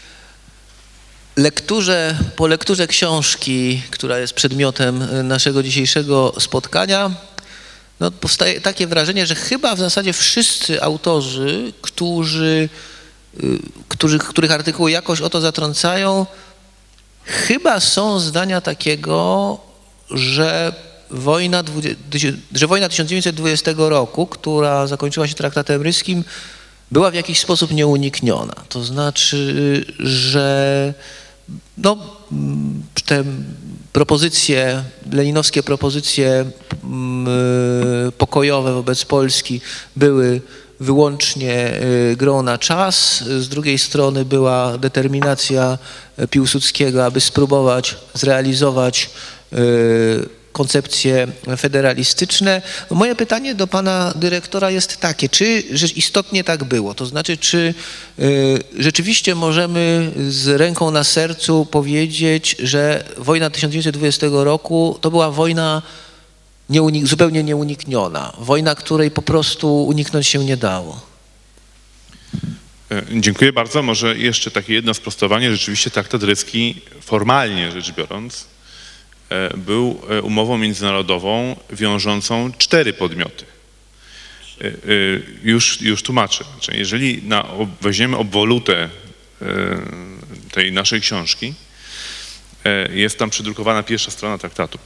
lekturze, po lekturze książki, która jest przedmiotem naszego dzisiejszego spotkania, no, powstaje takie wrażenie, że chyba w zasadzie wszyscy autorzy, którzy, którzy, których artykuły jakoś o to zatrącają, chyba są zdania takiego, że wojna, że wojna tysiąc dziewięćset dwudziestego roku, która zakończyła się traktatem ryskim, była w jakiś sposób nieunikniona. To znaczy, że no, te propozycje, leninowskie propozycje pokojowe wobec Polski były wyłącznie grą na czas. Z drugiej strony była determinacja Piłsudskiego, aby spróbować zrealizować koncepcje federalistyczne. Moje pytanie do pana dyrektora jest takie, czy istotnie tak było? To znaczy, czy rzeczywiście możemy z ręką na sercu powiedzieć, że wojna tysiąc dziewięćset dwudziestego roku to była wojna nieunik- zupełnie nieunikniona, wojna, której po prostu uniknąć się nie dało? Dziękuję bardzo. Może jeszcze takie jedno sprostowanie. Rzeczywiście traktat ryski, formalnie rzecz biorąc, był umową międzynarodową wiążącą cztery podmioty. Już, już tłumaczę. Jeżeli na, weźmiemy obwolutę tej naszej książki, jest tam przedrukowana pierwsza strona traktatu,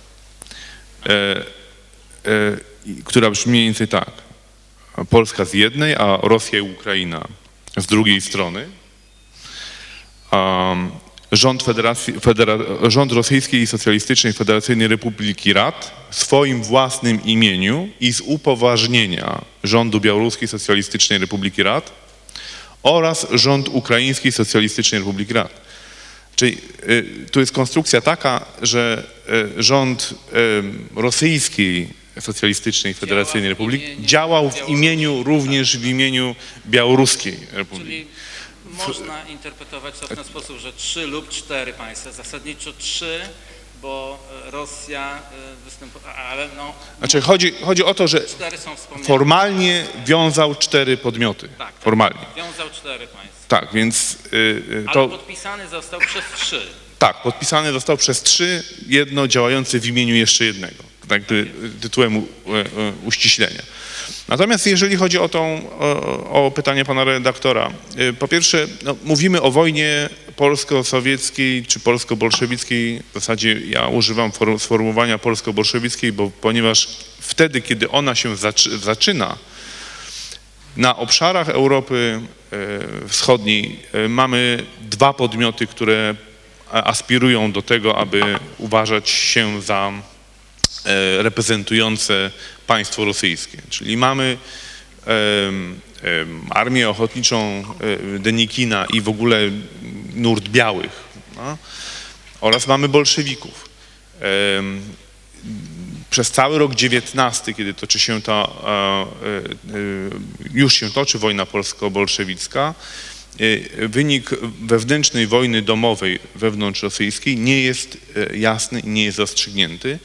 która brzmi mniej więcej tak. Polska z jednej, a Rosja i Ukraina z drugiej strony. Um, Rząd, Federacji, Federa, rząd Rosyjskiej Socjalistycznej Federacyjnej Republiki Rad w swoim własnym imieniu i z upoważnienia rządu Białoruskiej Socjalistycznej Republiki Rad oraz rząd Ukraińskiej Socjalistycznej Republiki Rad. Czyli y, tu jest konstrukcja taka, że y, rząd y, Rosyjskiej Socjalistycznej Federacyjnej Republiki działał w imieniu, również w imieniu Białoruskiej Republiki. Można interpretować to w ten sposób, że trzy lub cztery państwa, zasadniczo trzy, bo Rosja występuje, ale no... Znaczy chodzi, chodzi o to, że formalnie wiązał cztery podmioty. Tak, formalnie. Wiązał cztery państwa. Tak, więc yy, to... Ale podpisany został przez trzy. Tak, podpisany został przez trzy, jedno działające w imieniu jeszcze jednego. Tak, tytułem u, u, uściślenia. Natomiast jeżeli chodzi o, tą, o, o pytanie pana redaktora, po pierwsze no, mówimy o wojnie polsko-sowieckiej czy polsko-bolszewickiej, w zasadzie ja używam sformułowania polsko-bolszewickiej, bo ponieważ wtedy, kiedy ona się zaczy, zaczyna, na obszarach Europy Wschodniej mamy dwa podmioty, które aspirują do tego, aby uważać się za reprezentujące państwo rosyjskie. Czyli mamy um, um, armię ochotniczą um, Denikina i w ogóle nurt białych, no? Oraz mamy bolszewików. Um, przez cały rok dziewiętnasty, kiedy toczy się ta, już się toczy wojna polsko-bolszewicka, wynik wewnętrznej wojny domowej wewnątrzrosyjskiej nie jest jasny i nie jest rozstrzygnięty.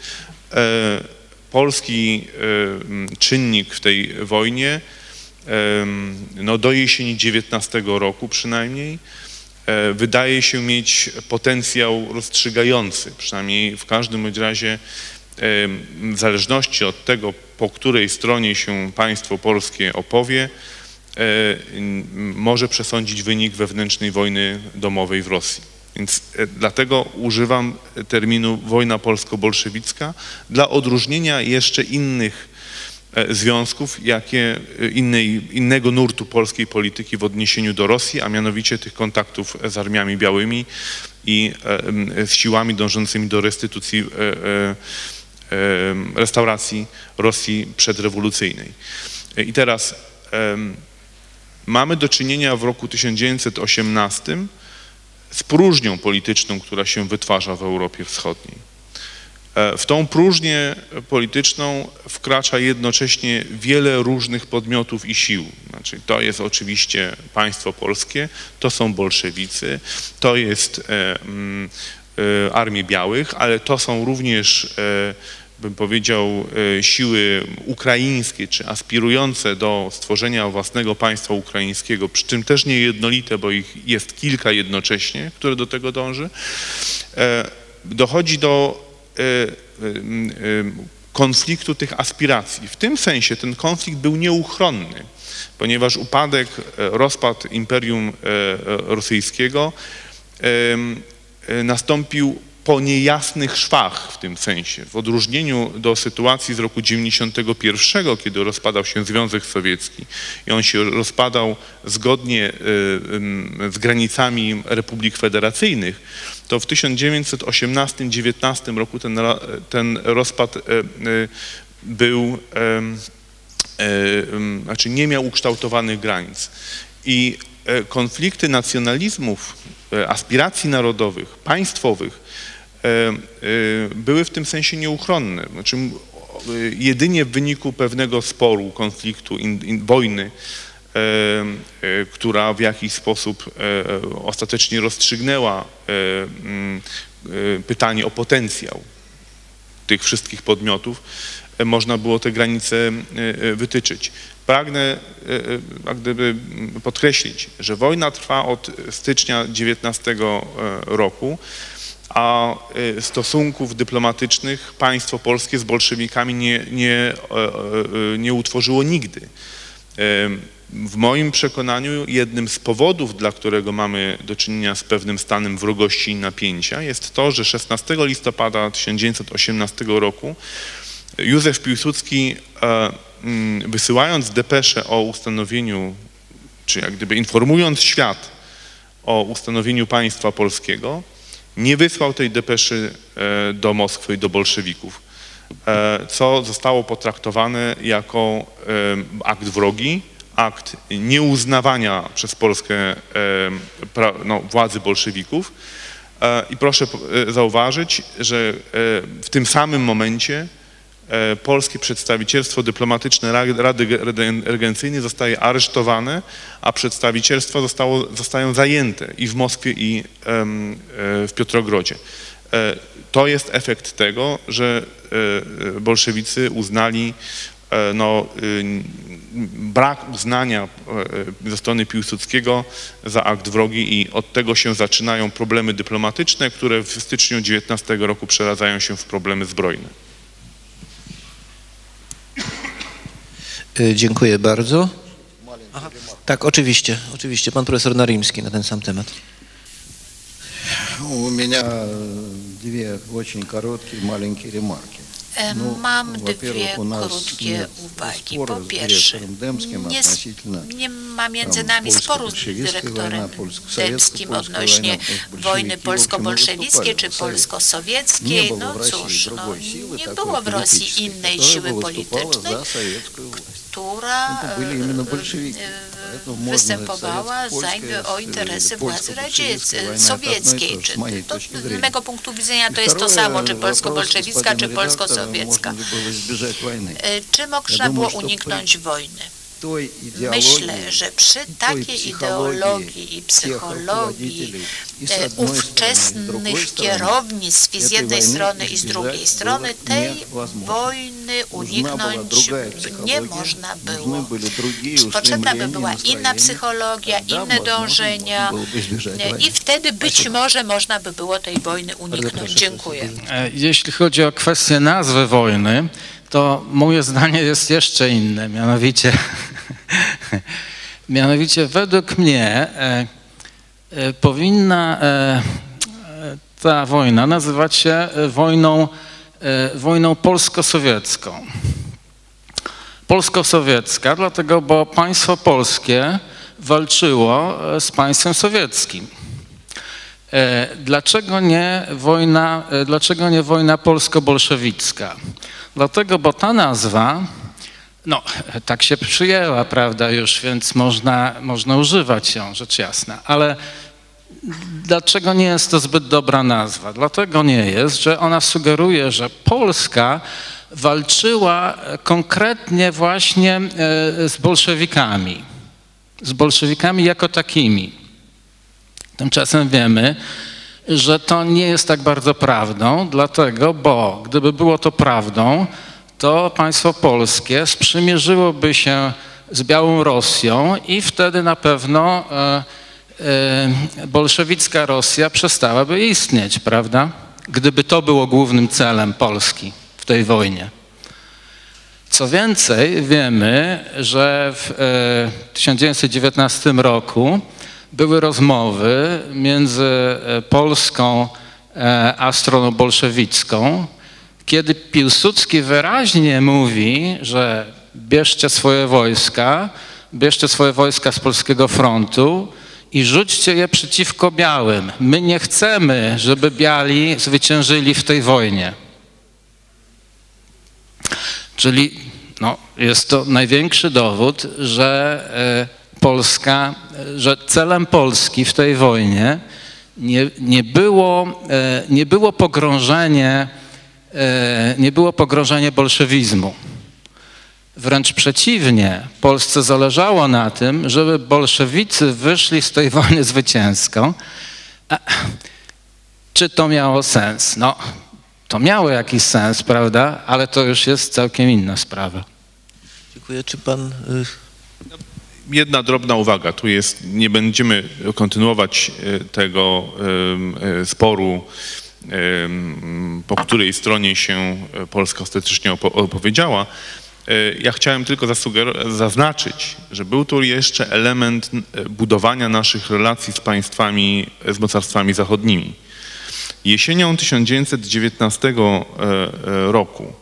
Polski czynnik w tej wojnie no, do jesieni dziewiętnastego roku przynajmniej wydaje się mieć potencjał rozstrzygający, przynajmniej w każdym bądź razie w zależności od tego, po której stronie się państwo polskie opowie, może przesądzić wynik wewnętrznej wojny domowej w Rosji. Więc dlatego używam terminu wojna polsko-bolszewicka dla odróżnienia jeszcze innych związków, jakie innej, innego nurtu polskiej polityki w odniesieniu do Rosji, a mianowicie tych kontaktów z armiami białymi i z siłami dążącymi do restytucji, restauracji Rosji przedrewolucyjnej. I teraz mamy do czynienia w roku tysiąc dziewięćset osiemnastym z próżnią polityczną, która się wytwarza w Europie Wschodniej. W tą próżnię polityczną wkracza jednocześnie wiele różnych podmiotów i sił. Znaczy, to jest oczywiście państwo polskie, to są bolszewicy, to jest e, e, Armii Białych, ale to są również, e, bym powiedział, e, siły ukraińskie, czy aspirujące do stworzenia własnego państwa ukraińskiego, przy czym też niejednolite, bo ich jest kilka jednocześnie, które do tego dąży. E, dochodzi do konfliktu tych aspiracji. W tym sensie ten konflikt był nieuchronny, ponieważ upadek, rozpad Imperium Rosyjskiego nastąpił po niejasnych szwach w tym sensie. W odróżnieniu do sytuacji z roku dziewięćdziesiątego pierwszego, kiedy rozpadał się Związek Sowiecki i on się rozpadał zgodnie z granicami republik federacyjnych, to w tysiąc dziewięćset osiemnastym do dziewiętnastego roku ten, ten rozpad był, znaczy nie miał ukształtowanych granic. I konflikty nacjonalizmów, aspiracji narodowych, państwowych były w tym sensie nieuchronne. Znaczy, jedynie w wyniku pewnego sporu, konfliktu, in, in, wojny, e, e, która w jakiś sposób e, ostatecznie rozstrzygnęła e, e, pytanie o potencjał tych wszystkich podmiotów, e, można było te granice e, wytyczyć. Pragnę jak gdyby podkreślić, że wojna trwa od stycznia dziewiętnastego roku, a stosunków dyplomatycznych państwo polskie z bolszewikami nie, nie, nie utworzyło nigdy. W moim przekonaniu jednym z powodów, dla którego mamy do czynienia z pewnym stanem wrogości i napięcia, jest to, że szesnastego listopada tysiąc dziewięćset osiemnastego roku Józef Piłsudski, wysyłając depeszę o ustanowieniu, czy jak gdyby informując świat o ustanowieniu państwa polskiego, nie wysłał tej depeszy do Moskwy i do bolszewików, co zostało potraktowane jako akt wrogi, akt nieuznawania przez Polskę no, władzy bolszewików. I proszę zauważyć, że w tym samym momencie polskie przedstawicielstwo dyplomatyczne Rady Regencyjnej zostaje aresztowane, a przedstawicielstwa zostało, zostają zajęte i w Moskwie, i w Piotrogrodzie. To jest efekt tego, że bolszewicy uznali no, brak uznania ze strony Piłsudskiego za akt wrogi i od tego się zaczynają problemy dyplomatyczne, które w styczniu dziewiętnastego roku przeradzają się w problemy zbrojne. Dziękuję bardzo. Aha, tak, oczywiście, oczywiście. Pan profesor Narimski na ten sam temat. У меня две очень короткие маленькие ремарки. Mam dwie krótkie uwagi. Po pierwsze, nie, nie ma między nami sporu z dyrektorem Dębskim odnośnie wojny polsko-bolszewickiej czy polsko-sowieckiej. No cóż, no, nie było w Rosji innej siły politycznej, która występowała za, o interesy władzy radzieckiej, sowieckiej. Czy to, z mego punktu widzenia to jest to samo, czy polsko-bolszewicka, czy polsko-sowiecka. Czy można było uniknąć wojny? Myślę, że przy takiej ideologii i psychologii ówczesnych kierownictw z jednej strony i z drugiej strony tej wojny uniknąć nie można było. Potrzebna by była inna psychologia, inne dążenia i wtedy być może można by było tej wojny uniknąć. Dziękuję. Jeśli chodzi o kwestię nazwy wojny, to moje zdanie jest jeszcze inne, mianowicie, mianowicie według mnie e, e, powinna e, ta wojna nazywać się wojną, e, wojną polsko-sowiecką. Polsko-sowiecka, dlatego, bo państwo polskie walczyło z państwem sowieckim. E, dlaczego nie wojna, e, dlaczego nie wojna polsko-bolszewicka? Dlatego, bo ta nazwa, no tak się przyjęła, prawda, już, więc można, można używać ją, rzecz jasna, ale dlaczego nie jest to zbyt dobra nazwa? Dlatego nie jest, że ona sugeruje, że Polska walczyła konkretnie właśnie z bolszewikami, z bolszewikami jako takimi. Tymczasem wiemy, że to nie jest tak bardzo prawdą, dlatego, bo gdyby było to prawdą, to państwo polskie sprzymierzyłoby się z Białą Rosją i wtedy na pewno e, e, bolszewicka Rosja przestałaby istnieć, prawda? Gdyby to było głównym celem Polski w tej wojnie. Co więcej, wiemy, że w e, tysiąc dziewięćset dziewiętnastym roku były rozmowy między Polską a stroną bolszewicką, kiedy Piłsudski wyraźnie mówi, że bierzcie swoje wojska, bierzcie swoje wojska z Polskiego Frontu i rzućcie je przeciwko białym. My nie chcemy, żeby biali zwyciężyli w tej wojnie. Czyli no, jest to największy dowód, że Polska, że celem Polski w tej wojnie nie, nie, było, nie było pogrążenie, nie było pogrążenie bolszewizmu. Wręcz przeciwnie, Polsce zależało na tym, żeby bolszewicy wyszli z tej wojny zwycięsko. A czy to miało sens? No, to miało jakiś sens, prawda? Ale to już jest całkiem inna sprawa. Dziękuję. Czy pan... Jedna drobna uwaga, tu jest, nie będziemy kontynuować tego sporu, po której stronie się Polska ostatecznie opowiedziała. Ja chciałem tylko zaznaczyć, że był tu jeszcze element budowania naszych relacji z państwami, z mocarstwami zachodnimi. Jesienią tysiąc dziewięćset dziewiętnastego roku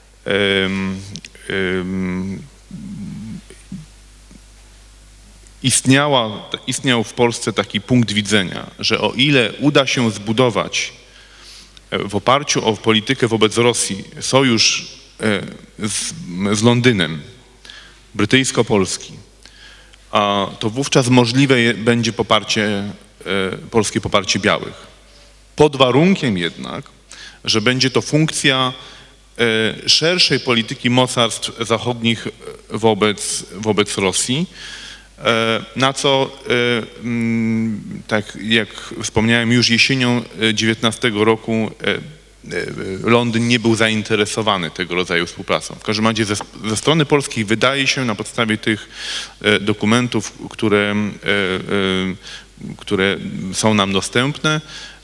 Istniała, istniał w Polsce taki punkt widzenia, że o ile uda się zbudować w oparciu o politykę wobec Rosji sojusz z, z Londynem, brytyjsko-polski, to wówczas możliwe będzie poparcie, polskie poparcie białych. Pod warunkiem jednak, że będzie to funkcja szerszej polityki mocarstw zachodnich wobec, wobec Rosji, na co, tak jak wspomniałem, już jesienią dziewiętnastego roku Londyn nie był zainteresowany tego rodzaju współpracą. W każdym razie ze, ze strony polskiej wydaje się na podstawie tych dokumentów, które, które są nam dostępne,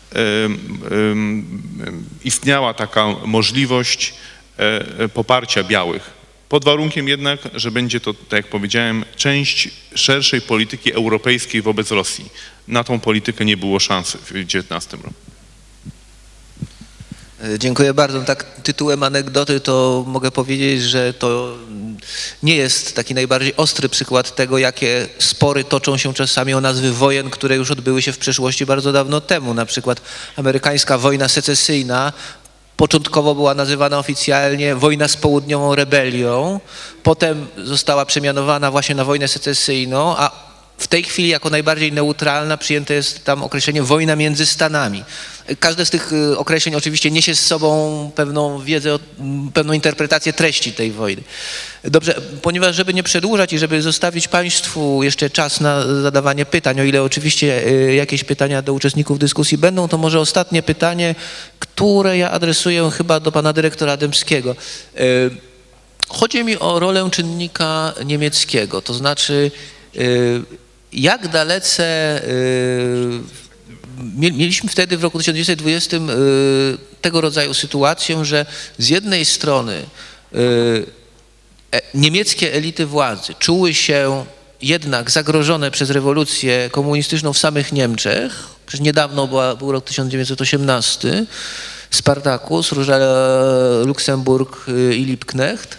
istniała taka możliwość poparcia białych. Pod warunkiem jednak, że będzie to, tak jak powiedziałem, część szerszej polityki europejskiej wobec Rosji. Na tą politykę nie było szansy w dziewiętnastym roku. Dziękuję bardzo. Tak tytułem anegdoty to mogę powiedzieć, że to nie jest taki najbardziej ostry przykład tego, jakie spory toczą się czasami o nazwy wojen, które już odbyły się w przeszłości bardzo dawno temu. Na przykład amerykańska wojna secesyjna początkowo była nazywana oficjalnie wojna z południową rebelią, potem została przemianowana właśnie na wojnę secesyjną, a w tej chwili jako najbardziej neutralna przyjęte jest tam określenie wojna między Stanami. Każde z tych określeń oczywiście niesie z sobą pewną wiedzę, pewną interpretację treści tej wojny. Dobrze, ponieważ żeby nie przedłużać i żeby zostawić Państwu jeszcze czas na zadawanie pytań, o ile oczywiście jakieś pytania do uczestników dyskusji będą, to może ostatnie pytanie, które ja adresuję chyba do pana dyrektora Dębskiego. Chodzi mi o rolę czynnika niemieckiego, to znaczy jak dalece mieliśmy wtedy w roku tysiąc dziewięćset dwudziestym tego rodzaju sytuację, że z jednej strony niemieckie elity władzy czuły się jednak zagrożone przez rewolucję komunistyczną w samych Niemczech. Przecież niedawno była, był rok tysiąc dziewięćset osiemnasty, Spartakus, Róża Luksemburg i Liebknecht.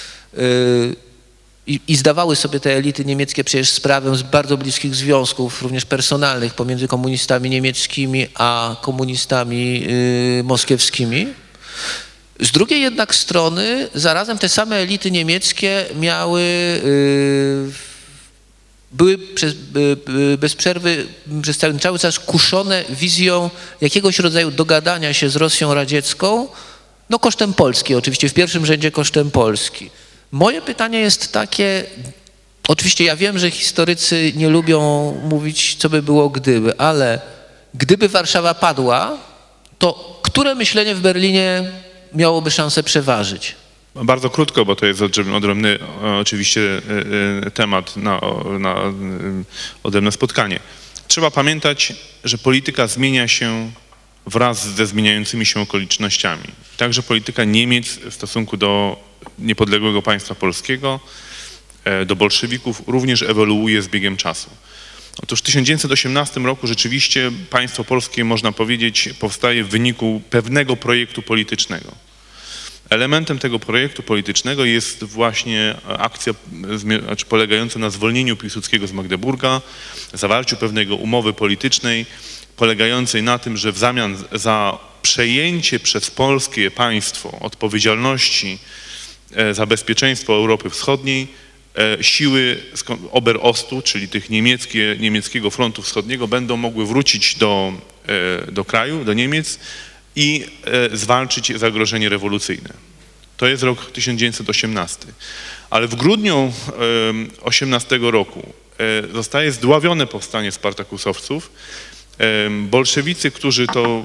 I, I zdawały sobie te elity niemieckie przecież sprawę z bardzo bliskich związków, również personalnych, pomiędzy komunistami niemieckimi a komunistami y, moskiewskimi. Z drugiej jednak strony zarazem te same elity niemieckie miały, y, były przez, y, bez przerwy przez cały, cały czas kuszone wizją jakiegoś rodzaju dogadania się z Rosją radziecką, no kosztem Polski oczywiście, w pierwszym rzędzie kosztem Polski. Moje pytanie jest takie, oczywiście ja wiem, że historycy nie lubią mówić, co by było gdyby, ale gdyby Warszawa padła, to które myślenie w Berlinie miałoby szansę przeważyć? Bardzo krótko, bo to jest odrębny oczywiście temat na, na odrębne spotkanie. Trzeba pamiętać, że polityka zmienia się wraz ze zmieniającymi się okolicznościami. Także polityka Niemiec w stosunku do niepodległego państwa polskiego, do bolszewików również ewoluuje z biegiem czasu. Otóż w tysiąc dziewięćset osiemnastym roku rzeczywiście państwo polskie, można powiedzieć, powstaje w wyniku pewnego projektu politycznego. Elementem tego projektu politycznego jest właśnie akcja znaczy polegająca na zwolnieniu Piłsudskiego z Magdeburga, zawarciu pewnego umowy politycznej, polegającej na tym, że w zamian za przejęcie przez polskie państwo odpowiedzialności za bezpieczeństwo Europy Wschodniej siły Oberostu, czyli tych niemieckie, niemieckiego frontu wschodniego będą mogły wrócić do, do kraju, do Niemiec i zwalczyć zagrożenie rewolucyjne. To jest rok tysiąc dziewięćset osiemnasty. Ale w grudniu osiemnastego roku zostaje zdławione powstanie spartakusowców. Bolszewicy, którzy to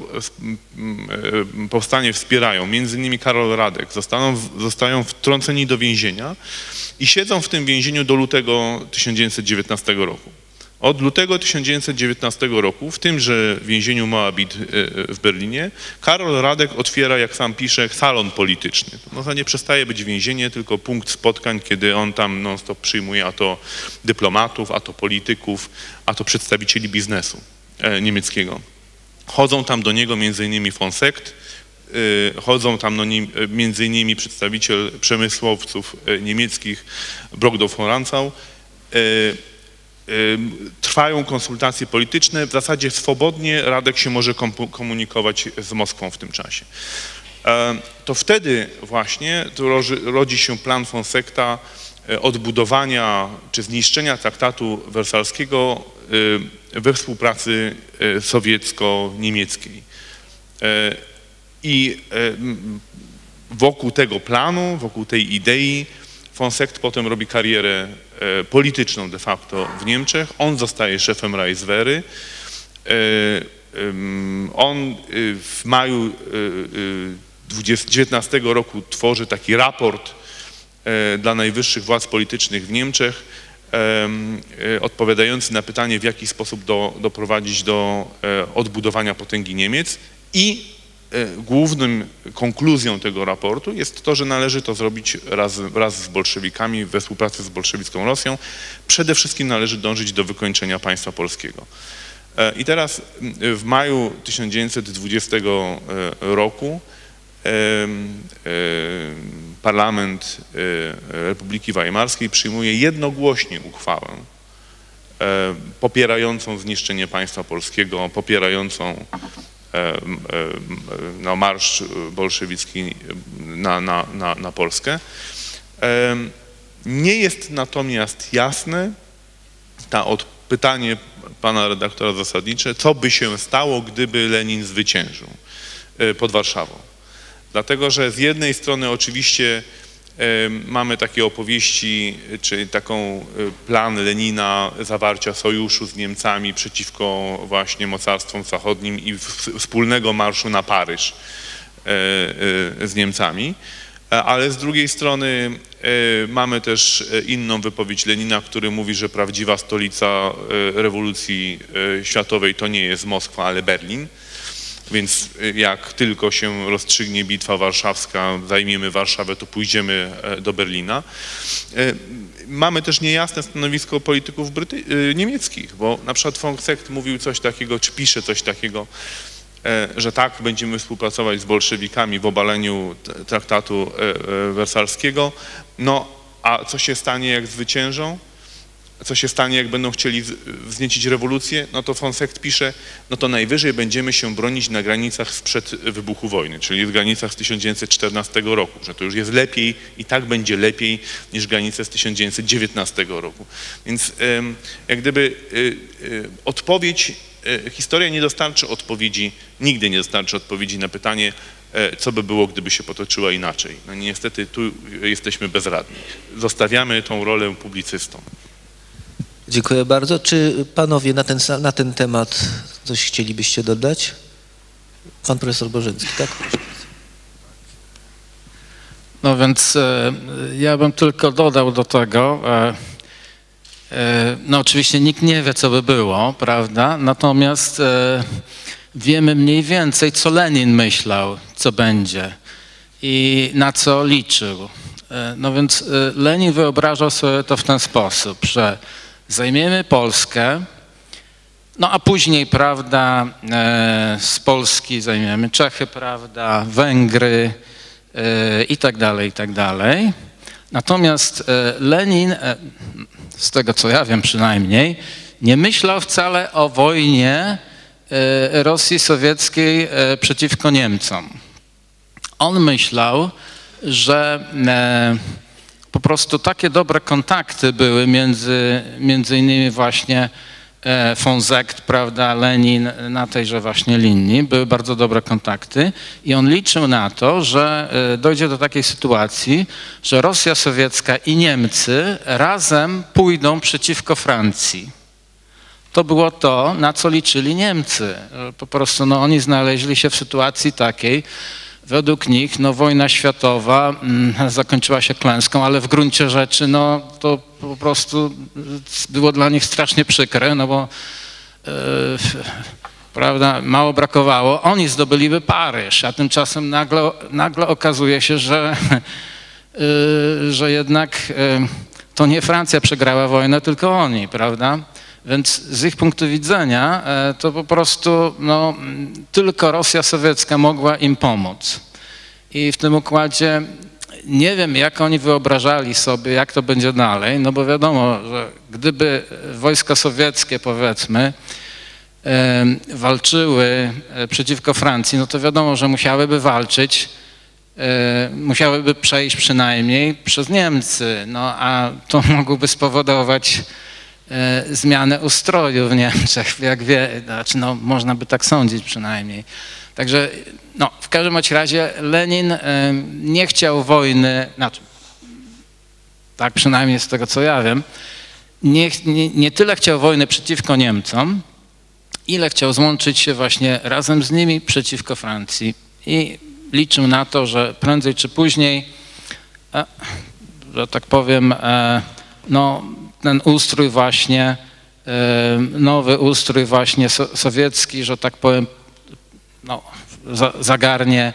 powstanie wspierają, między innymi Karol Radek, zostaną, zostają wtrąceni do więzienia i siedzą w tym więzieniu do lutego tysiąc dziewięćset dziewiętnastego roku. Od lutego tysiąc dziewięćset dziewiętnastego roku w tymże więzieniu Moabit w Berlinie Karol Radek otwiera, jak sam pisze, salon polityczny. No to nie przestaje być więzienie, tylko punkt spotkań, kiedy on tam non-stop przyjmuje a to dyplomatów, a to polityków, a to przedstawicieli biznesu niemieckiego. Chodzą tam do niego między innymi von Sekt, chodzą tam no, między innymi przedstawiciel przemysłowców niemieckich Brockdorf von Rantzau. Trwają konsultacje polityczne, w zasadzie swobodnie Radek się może komunikować z Moskwą w tym czasie. To wtedy właśnie to rodzi się plan von Sekta odbudowania czy zniszczenia traktatu wersalskiego we współpracy sowiecko-niemieckiej. I wokół tego planu, wokół tej idei von Sekt potem robi karierę polityczną de facto w Niemczech. On zostaje szefem Reichswehry. On w maju dziewiętnastego roku tworzy taki raport dla najwyższych władz politycznych w Niemczech, odpowiadający na pytanie, w jaki sposób do, doprowadzić do odbudowania potęgi Niemiec, i głównym konkluzją tego raportu jest to, że należy to zrobić raz, raz z bolszewikami, we współpracy z bolszewicką Rosją. Przede wszystkim należy dążyć do wykończenia państwa polskiego. I teraz w maju tysiąc dziewięćset dwudziestego roku Parlament Republiki Weimarskiej przyjmuje jednogłośnie uchwałę popierającą zniszczenie państwa polskiego, popierającą no, marsz bolszewicki na, na, na, na Polskę. Nie jest natomiast jasne ta od, pytanie pana redaktora zasadnicze, co by się stało, gdyby Lenin zwyciężył pod Warszawą. Dlatego, że z jednej strony oczywiście mamy takie opowieści, czy taką plan Lenina zawarcia sojuszu z Niemcami przeciwko właśnie mocarstwom zachodnim i wspólnego marszu na Paryż z Niemcami, ale z drugiej strony mamy też inną wypowiedź Lenina, który mówi, że prawdziwa stolica rewolucji światowej to nie jest Moskwa, ale Berlin. Więc jak tylko się rozstrzygnie bitwa warszawska, zajmiemy Warszawę, to pójdziemy do Berlina. Mamy też niejasne stanowisko polityków Bryty- niemieckich, bo na przykład von Seeckt mówił coś takiego, czy pisze coś takiego, że tak, będziemy współpracować z bolszewikami w obaleniu traktatu wersalskiego, no a co się stanie, jak zwyciężą? Co się stanie, jak będą chcieli wzniecić rewolucję? No to von Seeckt pisze, no to najwyżej będziemy się bronić na granicach sprzed wybuchu wojny, czyli w granicach z tysiąc dziewięćset czternastego roku, że to już jest lepiej i tak będzie lepiej niż granice z tysiąc dziewięćset dziewiętnastego roku. Więc jak gdyby odpowiedź, historia nie dostarczy odpowiedzi, nigdy nie dostarczy odpowiedzi na pytanie, co by było, gdyby się potoczyła inaczej. No niestety tu jesteśmy bezradni. Zostawiamy tą rolę publicystom. Dziękuję bardzo. Czy panowie na ten, na ten temat coś chcielibyście dodać? Pan profesor Bożyński, tak? No więc e, ja bym tylko dodał do tego, e, e, no oczywiście nikt nie wie, co by było, prawda? Natomiast e, wiemy mniej więcej, co Lenin myślał, co będzie i na co liczył. E, no więc e, Lenin wyobrażał sobie to w ten sposób, że zajmiemy Polskę, no a później, prawda, e, z Polski zajmiemy Czechy, prawda, Węgry e, i tak dalej, i tak dalej. Natomiast e, Lenin, e, z tego co ja wiem przynajmniej, nie myślał wcale o wojnie e, Rosji sowieckiej e, przeciwko Niemcom. On myślał, że e, po prostu takie dobre kontakty były między, między innymi właśnie e, von Seeckt, prawda, Lenin na tejże właśnie linii, były bardzo dobre kontakty i on liczył na to, że e, dojdzie do takiej sytuacji, że Rosja sowiecka i Niemcy razem pójdą przeciwko Francji. To było to, na co liczyli Niemcy. Po prostu no, oni znaleźli się w sytuacji takiej, według nich no, wojna światowa mm, zakończyła się klęską, ale w gruncie rzeczy no, to po prostu było dla nich strasznie przykre, no bo yy, prawda, mało brakowało. Oni zdobyliby Paryż, a tymczasem nagle, nagle okazuje się, że, yy, że jednak yy, to nie Francja przegrała wojnę, tylko oni, prawda? Więc z ich punktu widzenia to po prostu no, tylko Rosja sowiecka mogła im pomóc. I w tym układzie nie wiem, jak oni wyobrażali sobie, jak to będzie dalej, no bo wiadomo, że gdyby wojska sowieckie, powiedzmy, walczyły przeciwko Francji, no to wiadomo, że musiałyby walczyć, musiałyby przejść przynajmniej przez Niemcy, no a to mogłoby spowodować zmianę ustroju w Niemczech, jak wie, znaczy no, można by tak sądzić przynajmniej. Także no, w każdym razie Lenin y, nie chciał wojny, znaczy, tak przynajmniej z tego co ja wiem, nie, nie, nie tyle chciał wojny przeciwko Niemcom, ile chciał złączyć się właśnie razem z nimi przeciwko Francji i liczył na to, że prędzej czy później, e, że tak powiem, e, no ten ustrój właśnie, nowy ustrój właśnie sowiecki, że tak powiem, no, zagarnie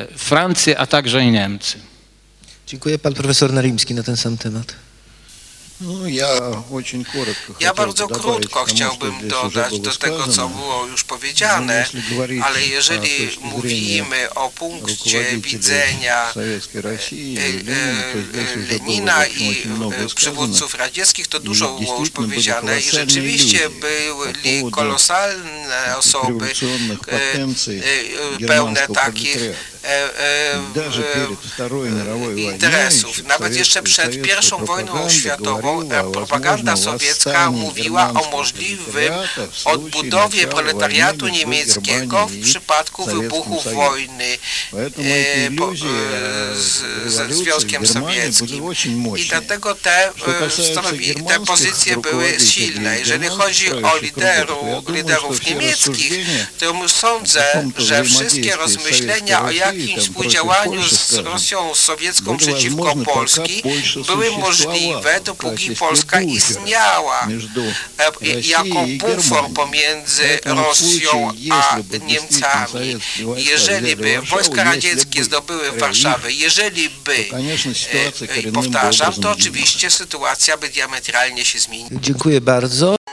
Francję, a także i Niemcy. Dziękuję. Pan profesor Narimski na ten sam temat. Ну, я очень коротко Ja хотел бы bardzo добавить krótko к тому, что chciałbym здесь уже dodać было do tego, co сказано. było już No, powiedziane, jeśli говорить ale о jeżeli точке зрения mówimy o punkcie руководителей widzenia Советской России, e, Ленина, то здесь e, уже было, в Lenina общем, i очень много e, сказано. przywódców radzieckich, to dużo było już действительно были powiedziane i колоссальные rzeczywiście иллюзии по byli поводу kolosalne osoby, революционных e, потенций e, pełne германского takich пролетариата. e, e, Даже перед Второй мировой войной interesów. Nawet jeszcze przed советская pierwszą wojną пропаганда światową говорила e, о propaganda возможном sowiecka восстании mówiła o германского możliwym пролетариата в случае odbudowie начала proletariatu войны между niemieckiego Германией w и przypadku Советским wybuchu Союзом. wojny Поэтому e, эти po, иллюзии e, z, ze революции в Związkiem Германии были Sowieckim. очень I mощные. dlatego te, Что e, касается stanowi, te германских pozycje były руководителей silne. Jeżeli германских chodzi o правящих кругов, то я liderów, думаю, что liderów все niemieckich, рассуждения to sądzę, каком-то że wszystkie взаимодействии rozmyślenia o Советской jakimś России, там, współdziałaniu против Польши, z скажем, Rosją sowiecką были przeciwko возможны, пока Polski Польша były существовала możliwe, в dopóki качестве Polska буфера istniała между e, Россией jako и bufor Германией. pomiędzy Поэтому в Rosją случае, a если бы действительно Niemcami. советские войска Jeżeli взяли by Варшаву, wojska если radzieckie бы zdobyły их, Warszawę, jeżeli by, to, конечно, sytuacja e, коренным powtarzam, образом to изменилась. oczywiście sytuacja by diametralnie się zmieniła. Dziękuję bardzo.